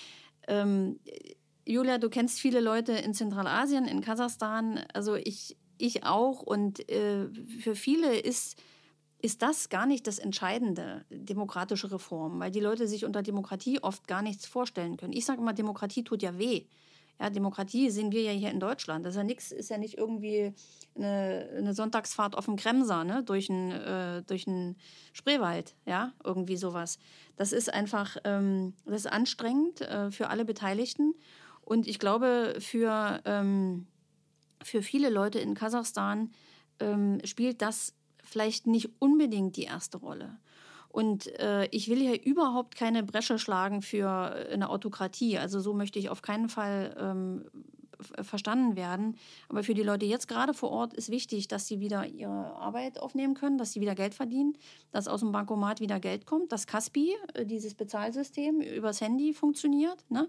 Speaker 6: Ähm, Julia, du kennst viele Leute in Zentralasien, in Kasachstan. Also ich... Ich auch. Und äh, für viele ist, ist das gar nicht das Entscheidende, demokratische Reform, weil die Leute sich unter Demokratie oft gar nichts vorstellen können. Ich sage immer, Demokratie tut ja weh. Ja, Demokratie sehen wir ja hier in Deutschland. Das ist ja nichts, ist ja nicht irgendwie eine, eine Sonntagsfahrt auf dem Kremser, ne, durch einen äh, durch einen Spreewald, ja, irgendwie sowas. Das ist einfach, ähm, das ist anstrengend äh, für alle Beteiligten. Und ich glaube, für ähm, Für viele Leute in Kasachstan ähm, spielt das vielleicht nicht unbedingt die erste Rolle. Und äh, ich will hier überhaupt keine Bresche schlagen für eine Autokratie. Also so möchte ich auf keinen Fall ähm, verstanden werden. Aber für die Leute jetzt gerade vor Ort ist wichtig, dass sie wieder ihre Arbeit aufnehmen können, dass sie wieder Geld verdienen, dass aus dem Bankomat wieder Geld kommt, dass Kaspi, äh, dieses Bezahlsystem, übers Handy funktioniert, ne?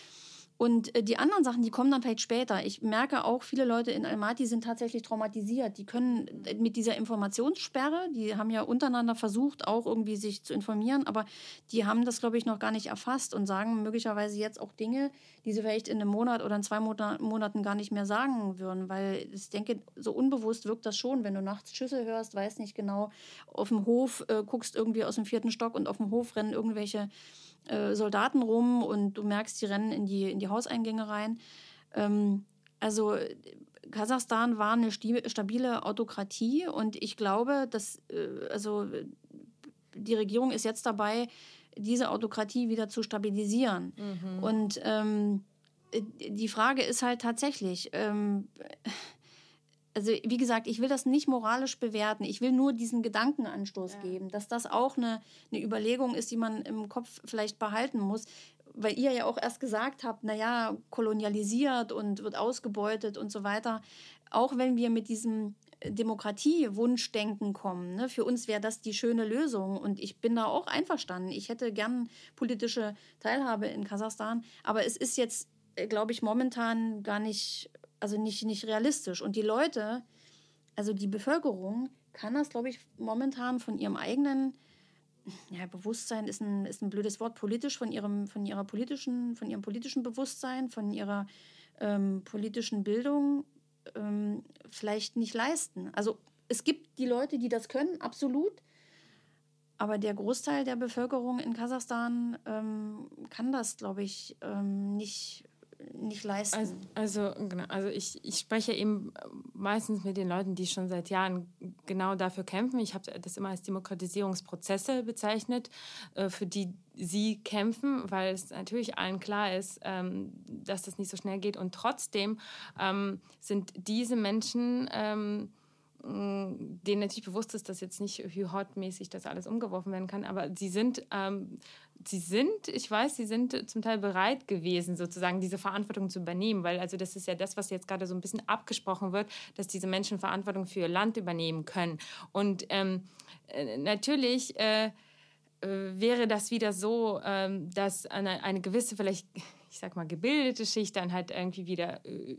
Speaker 6: Und die anderen Sachen, die kommen dann vielleicht später. Ich merke auch, viele Leute in Almaty sind tatsächlich traumatisiert. Die können mit dieser Informationssperre, die haben ja untereinander versucht, auch irgendwie sich zu informieren, aber die haben das, glaube ich, noch gar nicht erfasst und sagen möglicherweise jetzt auch Dinge, die sie vielleicht in einem Monat oder in zwei Monaten gar nicht mehr sagen würden. Weil ich denke, so unbewusst wirkt das schon, wenn du nachts Schüsse hörst, weißt nicht genau, auf dem Hof äh, guckst irgendwie aus dem vierten Stock und auf dem Hof rennen irgendwelche Soldaten rum und du merkst, die rennen in die, in die Hauseingänge rein. Ähm, also Kasachstan war eine stabile Autokratie und ich glaube, dass äh, also die Regierung ist jetzt dabei, diese Autokratie wieder zu stabilisieren. Mhm. Und ähm, die Frage ist halt tatsächlich, ähm, also wie gesagt, ich will das nicht moralisch bewerten. Ich will nur diesen Gedankenanstoß ja. geben, dass das auch eine, eine Überlegung ist, die man im Kopf vielleicht behalten muss. Weil ihr ja auch erst gesagt habt, naja, kolonialisiert und wird ausgebeutet und so weiter. Auch wenn wir mit diesem Demokratie-Wunschdenken kommen, ne, für uns wäre das die schöne Lösung. Und ich bin da auch einverstanden. Ich hätte gern politische Teilhabe in Kasachstan. Aber es ist jetzt, glaube ich, momentan gar nicht... Also nicht, nicht realistisch. Und die Leute, also die Bevölkerung, kann das, glaube ich, momentan von ihrem eigenen, ja, Bewusstsein ist ein, ist ein blödes Wort, politisch, von ihrem, von ihrer politischen, von ihrem politischen Bewusstsein, von ihrer ähm, politischen Bildung ähm, vielleicht nicht leisten. Also es gibt die Leute, die das können, absolut. Aber der Großteil der Bevölkerung in Kasachstan ähm, kann das, glaube ich, ähm, nicht nicht leisten.
Speaker 1: Also, also, genau, also ich, ich spreche eben meistens mit den Leuten, die schon seit Jahren genau dafür kämpfen. Ich habe das immer als Demokratisierungsprozesse bezeichnet, für die sie kämpfen, weil es natürlich allen klar ist, dass das nicht so schnell geht. Und trotzdem sind diese Menschen, denen natürlich bewusst ist, dass jetzt nicht Hü-Hot-mäßig das alles umgeworfen werden kann, aber sie sind, ähm, sie sind, ich weiß, sie sind zum Teil bereit gewesen, sozusagen diese Verantwortung zu übernehmen, weil also das ist ja das, was jetzt gerade so ein bisschen abgesprochen wird, dass diese Menschen Verantwortung für ihr Land übernehmen können. Und ähm, äh, natürlich äh, äh, wäre das wieder so, ähm, dass eine, eine gewisse, vielleicht, ich sag mal, gebildete Schicht dann halt irgendwie wieder äh,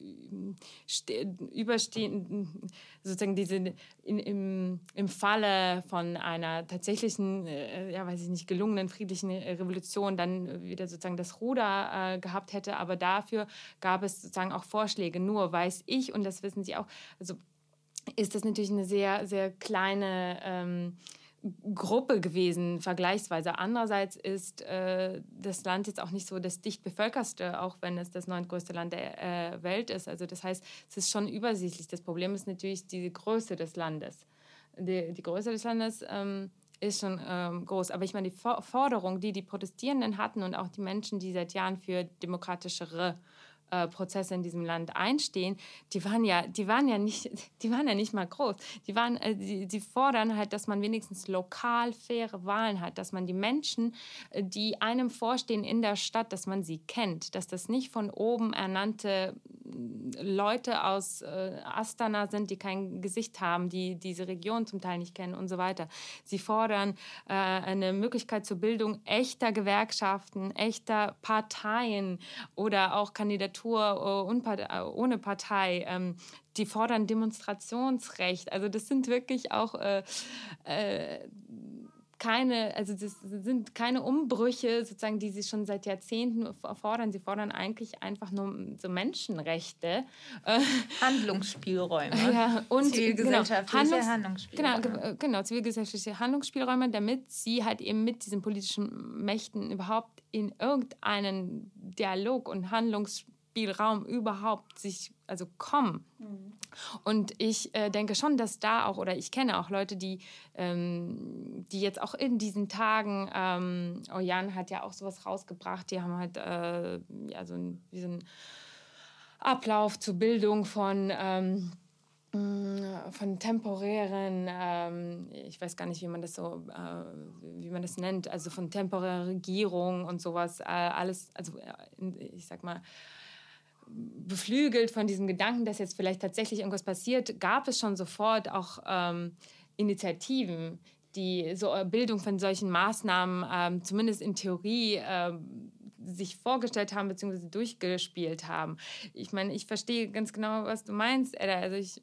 Speaker 1: überstehen, sozusagen diese in, im, im Falle von einer tatsächlichen, äh, ja, weiß ich nicht, gelungenen friedlichen Revolution dann wieder sozusagen das Ruder äh, gehabt hätte. Aber dafür gab es sozusagen auch Vorschläge. Nur weiß ich, und das wissen Sie auch, also ist das natürlich eine sehr, sehr kleine ähm, Gruppe gewesen, vergleichsweise. Andererseits ist äh, das Land jetzt auch nicht so das dicht bevölkerste, auch wenn es das neuntgrößte Land der äh, Welt ist. Also das heißt, es ist schon übersichtlich. Das Problem ist natürlich die Größe des Landes. Die, die Größe des Landes ähm, ist schon ähm, groß. Aber ich meine, die Forderung, die die Protestierenden hatten und auch die Menschen, die seit Jahren für demokratischere Prozesse in diesem Land einstehen, die waren ja, die waren ja nicht, die waren ja nicht mal groß. Die waren, äh, die, die fordern halt, dass man wenigstens lokal faire Wahlen hat, dass man die Menschen, die einem vorstehen in der Stadt, dass man sie kennt, dass das nicht von oben ernannte Leute aus äh, Astana sind, die kein Gesicht haben, die diese Region zum Teil nicht kennen und so weiter. Sie fordern äh, eine Möglichkeit zur Bildung echter Gewerkschaften, echter Parteien oder auch Kandidaturen ohne Partei, ähm, die fordern Demonstrationsrecht. Also das sind wirklich auch äh, äh, keine, also das sind keine Umbrüche, sozusagen, die sie schon seit Jahrzehnten fordern. Sie fordern eigentlich einfach nur so Menschenrechte.
Speaker 7: Handlungsspielräume.
Speaker 1: Ja, und
Speaker 7: zivilgesellschaftliche
Speaker 1: genau, Handlungs-
Speaker 7: Handlungsspielräume.
Speaker 1: Genau, genau, zivilgesellschaftliche Handlungsspielräume, damit sie halt eben mit diesen politischen Mächten überhaupt in irgendeinen Dialog und Handlungsspielraum Spielraum überhaupt sich also kommen. Mhm. Und ich äh, denke schon, dass da auch, oder ich kenne auch Leute, die, ähm, die jetzt auch in diesen Tagen, ähm, oh Jan hat ja auch sowas rausgebracht, die haben halt äh, ja, so einen, wie so einen Ablauf zur Bildung von ähm, von temporären, ähm, ich weiß gar nicht, wie man das so, äh, wie man das nennt, also von temporärer Regierung und sowas, äh, alles, also äh, ich sag mal, beflügelt von diesem Gedanken, dass jetzt vielleicht tatsächlich irgendwas passiert, gab es schon sofort auch ähm, Initiativen, die so Bildung von solchen Maßnahmen ähm, zumindest in Theorie ähm, sich vorgestellt haben bzw. durchgespielt haben. Ich meine, ich verstehe ganz genau, was du meinst, Edda. Also ich,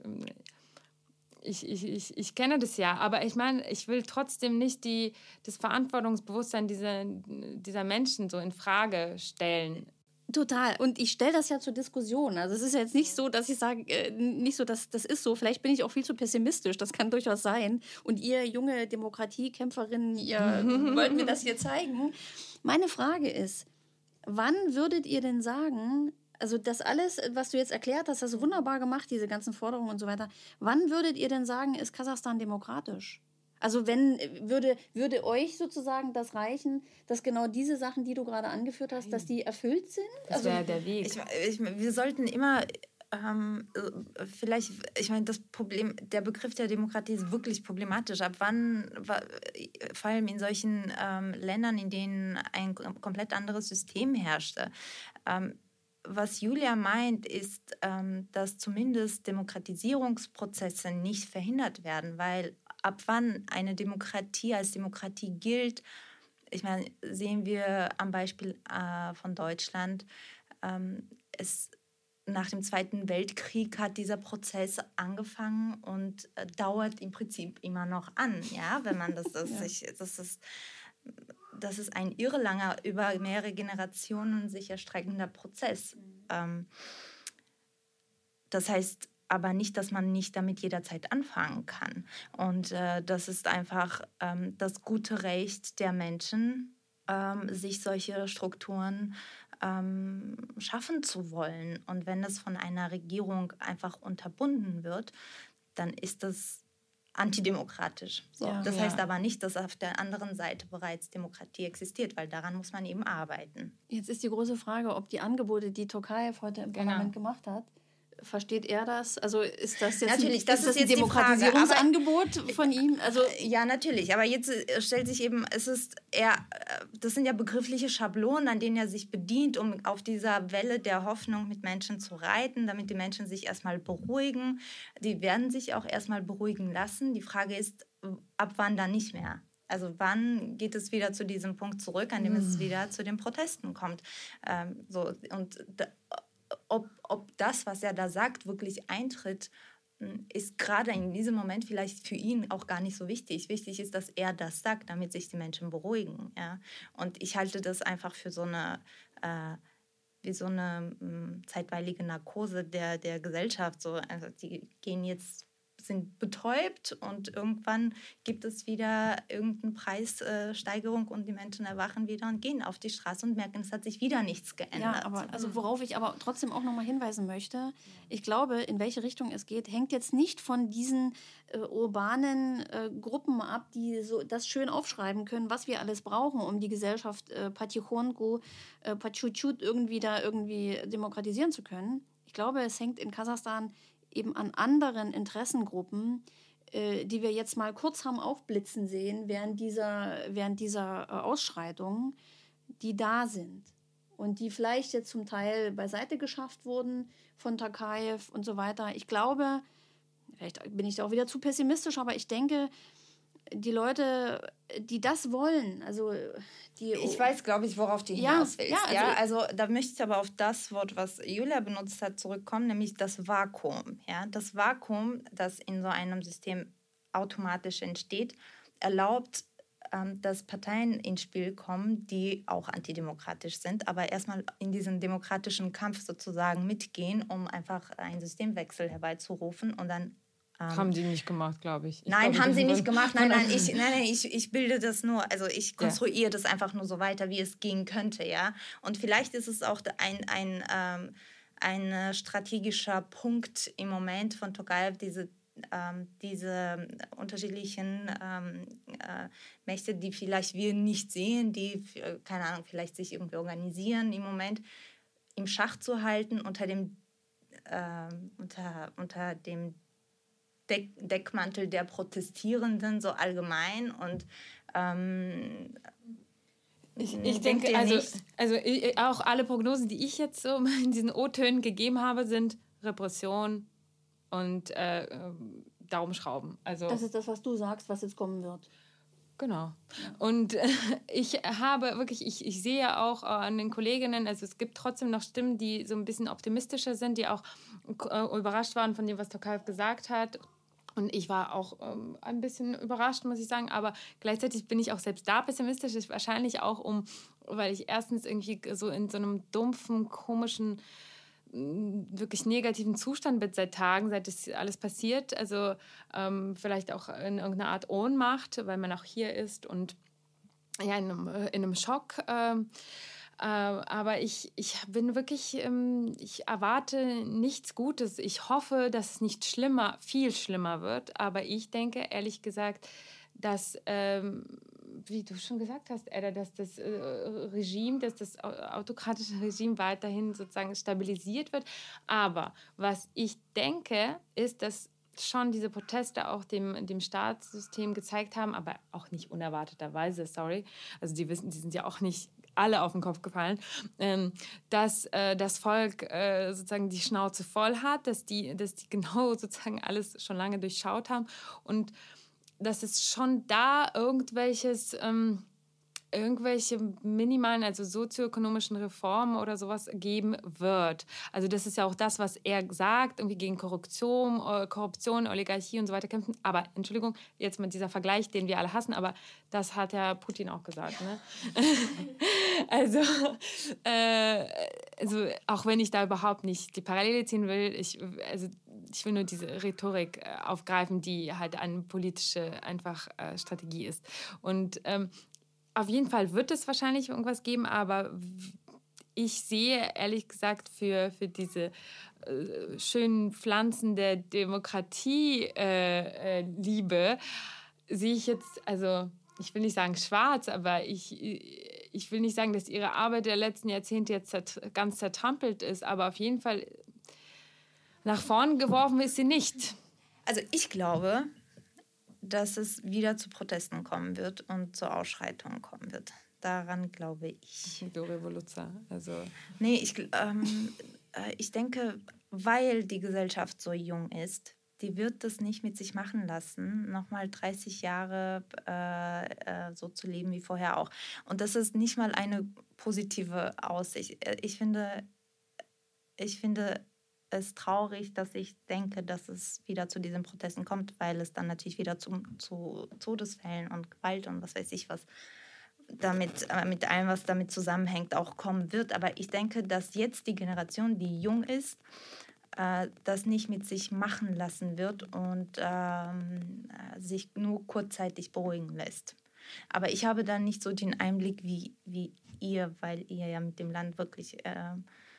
Speaker 1: ich, ich, ich, ich kenne das ja, aber ich meine, ich will trotzdem nicht die, das Verantwortungsbewusstsein dieser, dieser Menschen so in Frage stellen.
Speaker 6: Total. Und ich stelle das ja zur Diskussion. Also es ist jetzt nicht so, dass ich sage, äh, nicht so, dass das ist so. Vielleicht bin ich auch viel zu pessimistisch. Das kann durchaus sein. Und ihr junge Demokratiekämpferinnen, ihr wollt mir das hier zeigen. Meine Frage ist, wann würdet ihr denn sagen, also das alles, was du jetzt erklärt hast, hast du wunderbar gemacht, diese ganzen Forderungen und so weiter. Wann würdet ihr denn sagen, ist Kasachstan demokratisch? Also wenn, würde, würde euch sozusagen das reichen, dass genau diese Sachen, die du gerade angeführt hast, dass die erfüllt sind?
Speaker 1: Das wäre der Weg.
Speaker 7: Ich, ich, wir sollten immer, ähm, vielleicht, ich meine, das Problem, der Begriff der Demokratie ist wirklich problematisch. Ab wann, vor allem in solchen ähm, Ländern, in denen ein komplett anderes System herrschte, ähm, was Julia meint, ist, ähm, dass zumindest Demokratisierungsprozesse nicht verhindert werden, weil ab wann eine Demokratie als Demokratie gilt, ich meine, sehen wir am Beispiel äh, von Deutschland, ähm, es, nach dem Zweiten Weltkrieg hat dieser Prozess angefangen und äh, dauert im Prinzip immer noch an, ja, wenn man das, das, ja. sich, das ist, das ist ein irrelanger, über mehrere Generationen sich erstreckender Prozess. Mhm. Ähm, das heißt aber nicht, dass man nicht damit jederzeit anfangen kann. Und äh, das ist einfach ähm, das gute Recht der Menschen, ähm, sich solche Strukturen ähm, schaffen zu wollen. Und wenn das von einer Regierung einfach unterbunden wird, dann ist das antidemokratisch. So. Ja, das ja. heißt aber nicht, dass auf der anderen Seite bereits Demokratie existiert, weil daran muss man eben arbeiten.
Speaker 6: Jetzt ist die große Frage, ob die Angebote, die Tokayev heute im genau. Parlament gemacht hat, versteht er das? Also ist das jetzt
Speaker 7: natürlich,
Speaker 6: ein,
Speaker 7: das
Speaker 6: ist
Speaker 7: ist
Speaker 6: das ein
Speaker 7: jetzt
Speaker 6: Demokratisierungsangebot
Speaker 7: Frage,
Speaker 6: von ihm? Also
Speaker 7: ja, natürlich. Aber jetzt stellt sich eben, es ist eher, das sind ja begriffliche Schablonen, an denen er sich bedient, um auf dieser Welle der Hoffnung mit Menschen zu reiten, damit die Menschen sich erstmal beruhigen. Die werden sich auch erstmal beruhigen lassen. Die Frage ist, ab wann dann nicht mehr? Also wann geht es wieder zu diesem Punkt zurück, an dem hm. es wieder zu den Protesten kommt? Ähm, so, und da, Ob, ob das, was er da sagt, wirklich eintritt, ist gerade in diesem Moment vielleicht für ihn auch gar nicht so wichtig. Wichtig ist, dass er das sagt, damit sich die Menschen beruhigen. Ja? Und ich halte das einfach für so eine, äh, wie so eine mh, zeitweilige Narkose der, der Gesellschaft. So, also die gehen jetzt sind betäubt und irgendwann gibt es wieder irgendeine Preissteigerung und die Menschen erwachen wieder und gehen auf die Straße und merken, es hat sich wieder nichts geändert.
Speaker 6: Ja, aber also worauf ich aber trotzdem auch nochmal hinweisen möchte, ich glaube, in welche Richtung es geht, hängt jetzt nicht von diesen äh, urbanen äh, Gruppen ab, die so das schön aufschreiben können, was wir alles brauchen, um die Gesellschaft äh, patichonku, äh, pachuchut irgendwie da irgendwie demokratisieren zu können. Ich glaube, es hängt in Kasachstan eben an anderen Interessengruppen, äh, die wir jetzt mal kurz haben aufblitzen sehen während dieser, während dieser äh, Ausschreitungen, die da sind und die vielleicht jetzt zum Teil beiseite geschafft wurden von Tokayev und so weiter. Ich glaube, vielleicht bin ich da auch wieder zu pessimistisch, aber ich denke, die Leute, die das wollen, also die...
Speaker 7: Ich weiß, glaube ich, worauf du
Speaker 6: ja,
Speaker 7: hinaus willst.
Speaker 6: Ja, also,
Speaker 7: ja? also da möchte ich aber auf das Wort, was Julia benutzt hat, zurückkommen, nämlich das Vakuum. Ja? Das Vakuum, das in so einem System automatisch entsteht, erlaubt, ähm, dass Parteien ins Spiel kommen, die auch antidemokratisch sind, aber erstmal in diesen demokratischen Kampf sozusagen mitgehen, um einfach einen Systemwechsel herbeizurufen und dann
Speaker 1: haben die nicht gemacht, glaube ich. ich.
Speaker 7: Nein,
Speaker 1: glaube,
Speaker 7: haben sie nicht gemacht. Nein, nein, ich, nein, nein ich, ich bilde das nur, also ich konstruiere ja. das einfach nur so weiter, wie es gehen könnte, ja. Und vielleicht ist es auch ein, ein, ähm, ein strategischer Punkt im Moment von Tokayev, diese, ähm, diese unterschiedlichen ähm, äh, Mächte, die vielleicht wir nicht sehen, die, keine Ahnung, vielleicht sich irgendwie organisieren im Moment, im Schach zu halten unter dem, äh, unter, unter dem Deckmantel der Protestierenden so allgemein und ähm,
Speaker 1: ich, ich denke, also, also ich, auch alle Prognosen, die ich jetzt so in diesen O-Tönen gegeben habe, sind Repression und äh, Daumenschrauben. Also,
Speaker 6: das ist das, was du sagst, was jetzt kommen wird.
Speaker 1: Genau. Und äh, ich habe wirklich, ich, ich sehe auch äh, an den Kolleginnen, also es gibt trotzdem noch Stimmen, die so ein bisschen optimistischer sind, die auch äh, überrascht waren von dem, was Tokayev gesagt hat. Und ich war auch ähm, ein bisschen überrascht, muss ich sagen, aber gleichzeitig bin ich auch selbst da pessimistisch, ist wahrscheinlich auch um, weil ich erstens irgendwie so in so einem dumpfen, komischen, wirklich negativen Zustand bin seit Tagen, seit das alles passiert, also ähm, vielleicht auch in irgendeiner Art Ohnmacht, weil man auch hier ist und ja, in einem, in einem Schock, ähm, äh, aber ich, ich bin wirklich, ähm, ich erwarte nichts Gutes. Ich hoffe, dass es nicht schlimmer, viel schlimmer wird. Aber ich denke, ehrlich gesagt, dass, ähm, wie du schon gesagt hast, Edda, dass das äh, Regime, dass das autokratische Regime weiterhin sozusagen stabilisiert wird. Aber was ich denke, ist, dass schon diese Proteste auch dem, dem Staatssystem gezeigt haben, aber auch nicht unerwarteterweise, sorry. Also die wissen, die sind ja auch nicht alle auf den Kopf gefallen, ähm, dass äh, das Volk äh, sozusagen die Schnauze voll hat, dass die, dass die genau sozusagen alles schon lange durchschaut haben und dass es schon da irgendwelches, ähm, irgendwelche minimalen, also sozioökonomischen Reformen oder sowas geben wird. Also das ist ja auch das, was er sagt, irgendwie gegen Korruption, Korruption, Oligarchie und so weiter kämpfen. Aber, Entschuldigung, jetzt mit dieser Vergleich, den wir alle hassen, aber das hat ja Putin auch gesagt. Ne? also, äh, also auch wenn ich da überhaupt nicht die Parallele ziehen will, ich, also ich will nur diese Rhetorik äh, aufgreifen, die halt eine politische einfach äh, Strategie ist. Und ähm, auf jeden Fall wird es wahrscheinlich irgendwas geben, aber ich sehe ehrlich gesagt für, für diese äh, schönen Pflanzen der Demokratie-Liebe, äh, äh, sehe ich jetzt, also ich will nicht sagen schwarz, aber ich, ich will nicht sagen, dass ihre Arbeit der letzten Jahrzehnte jetzt zert- ganz zertrampelt ist, aber auf jeden Fall nach vorn geworfen ist sie nicht.
Speaker 7: Also ich glaube, dass es wieder zu Protesten kommen wird und zu Ausschreitungen kommen wird. Daran glaube ich.
Speaker 1: Du Revoluzer, also...
Speaker 7: Nee, ich, ähm, äh, ich denke, weil die Gesellschaft so jung ist, die wird das nicht mit sich machen lassen, nochmal dreißig Jahre äh, äh, so zu leben wie vorher auch. Und das ist nicht mal eine positive Aussicht. Ich finde, ich finde es traurig, dass ich denke, dass es wieder zu diesen Protesten kommt, weil es dann natürlich wieder zu, zu Todesfällen und Gewalt und was weiß ich was damit, äh, mit allem, was damit zusammenhängt, auch kommen wird. Aber ich denke, dass jetzt die Generation, die jung ist, äh, das nicht mit sich machen lassen wird und ähm, sich nur kurzzeitig beruhigen lässt. Aber ich habe dann nicht so den Einblick wie, wie ihr, weil ihr ja mit dem Land wirklich äh,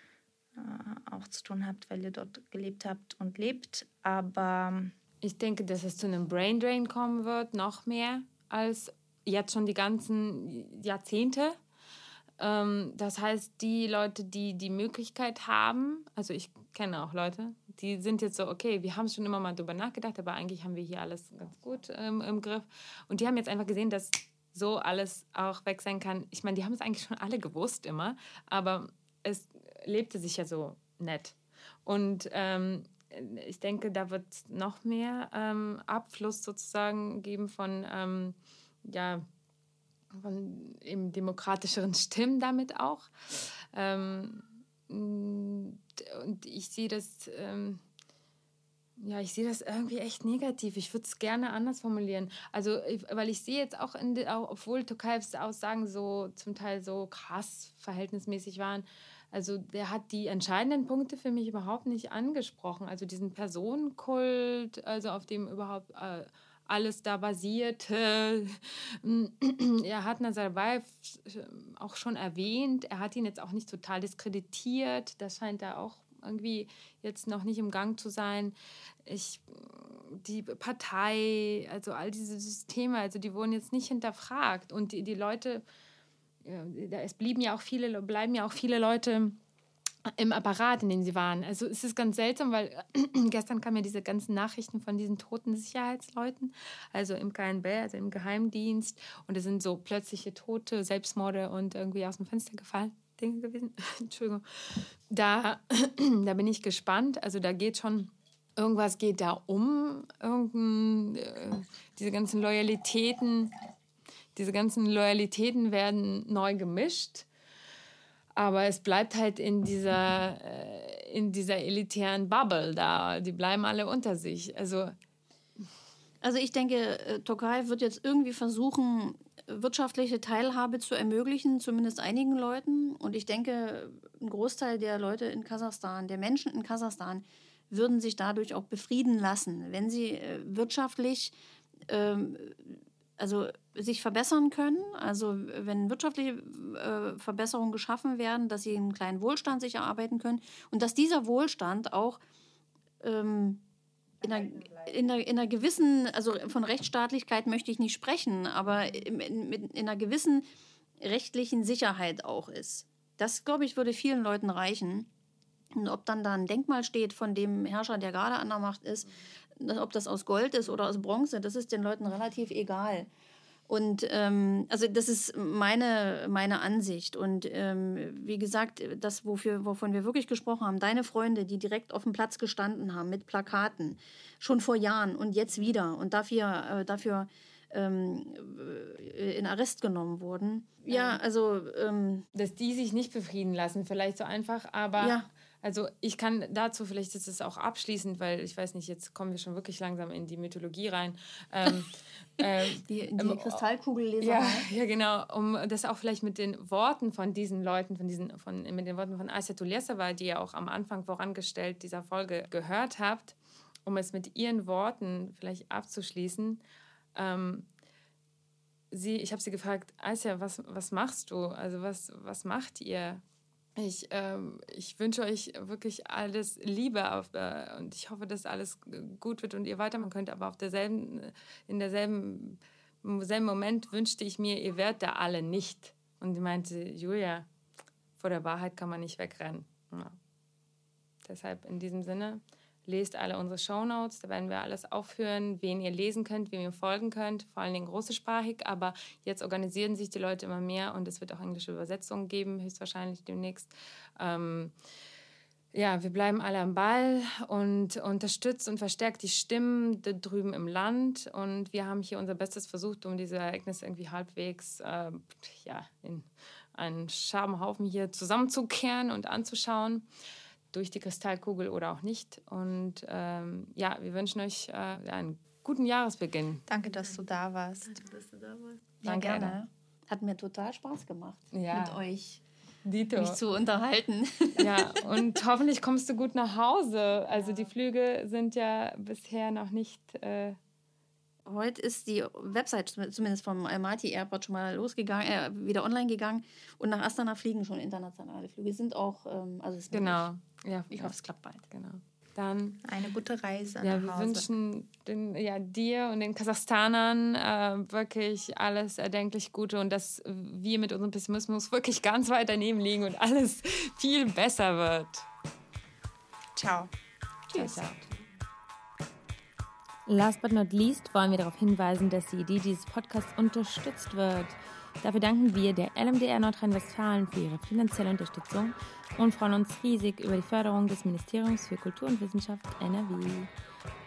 Speaker 7: äh, auch zu tun habt, weil ihr dort gelebt habt und lebt. Aber
Speaker 1: ich denke, dass es zu einem Braindrain kommen wird, noch mehr als jetzt schon die ganzen Jahrzehnte. Ähm, das heißt, die Leute, die die Möglichkeit haben, also ich kenne auch Leute, die sind jetzt so, okay, wir haben schon immer mal drüber nachgedacht, aber eigentlich haben wir hier alles ganz gut ähm, im Griff. Und die haben jetzt einfach gesehen, dass so alles auch weg sein kann. Ich meine, die haben es eigentlich schon alle gewusst immer, aber es lebte sich ja so nett. Und ähm, ich denke, da wird es noch mehr ähm, Abfluss sozusagen geben von, ähm, ja, von eben demokratischeren Stimmen damit auch. Ähm, und ich sehe das, ähm, ja, ich sehe das irgendwie echt negativ. Ich würde es gerne anders formulieren. Also, ich, weil ich sehe jetzt auch, in de, auch obwohl Tokayevs Aussagen so zum Teil so krass verhältnismäßig waren, also der hat die entscheidenden Punkte für mich überhaupt nicht angesprochen. Also diesen Personenkult, also auf dem überhaupt äh, alles da basierte. Er hat Nazarbayev auch schon erwähnt. Er hat ihn jetzt auch nicht total diskreditiert. Das scheint da auch irgendwie jetzt noch nicht im Gang zu sein. Ich, die Partei, also all diese Systeme, also die wurden jetzt nicht hinterfragt. Und die, die Leute, ja, es blieben ja auch viele, bleiben ja auch viele Leute im Apparat, in dem sie waren. Also es ist ganz seltsam, weil gestern kamen ja diese ganzen Nachrichten von diesen toten Sicherheitsleuten, also im K N B, also im Geheimdienst. Und es sind so plötzliche Tote, Selbstmorde und irgendwie aus dem Fenster gefallen Dinge gewesen. Entschuldigung. Da, da bin ich gespannt. Also da geht schon, irgendwas geht da um. Irgendein, äh, diese ganzen Loyalitäten, diese ganzen Loyalitäten werden neu gemischt. Aber es bleibt halt in dieser, äh, in dieser elitären Bubble da. Die bleiben alle unter sich. Also,
Speaker 6: also ich denke, Tokayev wird jetzt irgendwie versuchen, wirtschaftliche Teilhabe zu ermöglichen, zumindest einigen Leuten. Und ich denke, ein Großteil der Leute in Kasachstan, der Menschen in Kasachstan, würden sich dadurch auch befrieden lassen, wenn sie äh, wirtschaftlich ähm, also sich verbessern können, also wenn wirtschaftliche äh, Verbesserungen geschaffen werden, dass sie einen kleinen Wohlstand sich erarbeiten können und dass dieser Wohlstand auch ähm, in, einer, in, einer, in einer gewissen, also von Rechtsstaatlichkeit möchte ich nicht sprechen, aber in, in, in einer gewissen rechtlichen Sicherheit auch ist. Das, glaube ich, würde vielen Leuten reichen. Und ob dann da ein Denkmal steht von dem Herrscher, der gerade an der Macht ist, ob das aus Gold ist oder aus Bronze, das ist den Leuten relativ egal. Und ähm, also das ist meine, meine Ansicht. Und ähm, wie gesagt, das, wofür, wovon wir wirklich gesprochen haben, deine Freunde, die direkt auf dem Platz gestanden haben mit Plakaten, schon vor Jahren und jetzt wieder und dafür, äh, dafür ähm, in Arrest genommen wurden. Ja, also... Ähm,
Speaker 1: dass die sich nicht befrieden lassen, vielleicht so einfach, aber...
Speaker 6: Ja.
Speaker 1: Also ich kann dazu, vielleicht ist es auch abschließend, weil ich weiß nicht, jetzt kommen wir schon wirklich langsam in die Mythologie rein. Ähm, ähm,
Speaker 6: die die ähm, Kristallkugelleser.
Speaker 1: Ja, ja, genau, um das auch vielleicht mit den Worten von diesen Leuten, von diesen, von, mit den Worten von Asya Tulesova, die ihr auch am Anfang vorangestellt dieser Folge gehört habt, um es mit ihren Worten vielleicht abzuschließen. Ähm, sie, ich habe sie gefragt, Asya, was, was machst du? Also was, was macht ihr? Ich, ähm, ich wünsche euch wirklich alles Liebe auf, äh, und ich hoffe, dass alles gut wird und ihr weitermachen könnt, aber auf derselben, in derselben im selben Moment wünschte ich mir, ihr wärt da alle nicht. Und sie meinte, Julia, vor der Wahrheit kann man nicht wegrennen. Ja. Deshalb in diesem Sinne, lest alle unsere Shownotes, da werden wir alles aufführen, wen ihr lesen könnt, wem ihr folgen könnt, vor allen Dingen großsprachig, aber jetzt organisieren sich die Leute immer mehr und es wird auch englische Übersetzungen geben, höchstwahrscheinlich demnächst. Ähm, ja, wir bleiben alle am Ball und unterstützt und verstärkt die Stimmen da drüben im Land und wir haben hier unser Bestes versucht, um diese Ereignisse irgendwie halbwegs äh, ja, in einen Scherbenhaufen hier zusammenzukehren und anzuschauen. Durch die Kristallkugel oder auch nicht. Und ähm, ja, wir wünschen euch äh, einen guten Jahresbeginn.
Speaker 7: Danke, dass du da warst.
Speaker 6: Danke, dass du da warst.
Speaker 1: Danke,
Speaker 6: ja, gerne. Hat mir total Spaß gemacht
Speaker 1: ja.
Speaker 6: mit euch. Dito. mich zu unterhalten.
Speaker 1: Ja, und hoffentlich kommst du gut nach Hause. Also die Flüge sind ja bisher noch nicht... Äh
Speaker 6: Heute ist die Website zumindest vom Almaty Airport schon mal losgegangen, äh, wieder online gegangen. Und nach Astana fliegen schon internationale Flüge. Sind auch... Ähm, also es ist
Speaker 1: genau. Ja,
Speaker 6: ich
Speaker 1: ja.
Speaker 6: hoffe, es klappt bald.
Speaker 1: Genau. Dann
Speaker 7: eine gute Reise.
Speaker 1: Ja,
Speaker 7: nach
Speaker 1: wir
Speaker 7: Hause.
Speaker 1: wünschen den, ja, dir und den Kasachstanern äh, wirklich alles erdenklich Gute und dass wir mit unserem Pessimismus wirklich ganz weit daneben liegen und alles viel besser wird.
Speaker 7: Ciao.
Speaker 1: Tschüss. Ciao, ciao.
Speaker 5: Last but not least wollen wir darauf hinweisen, dass die Idee dieses Podcasts unterstützt wird. Dafür danken wir der L M D R Nordrhein-Westfalen für ihre finanzielle Unterstützung und freuen uns riesig über die Förderung des Ministeriums für Kultur und Wissenschaft N R W.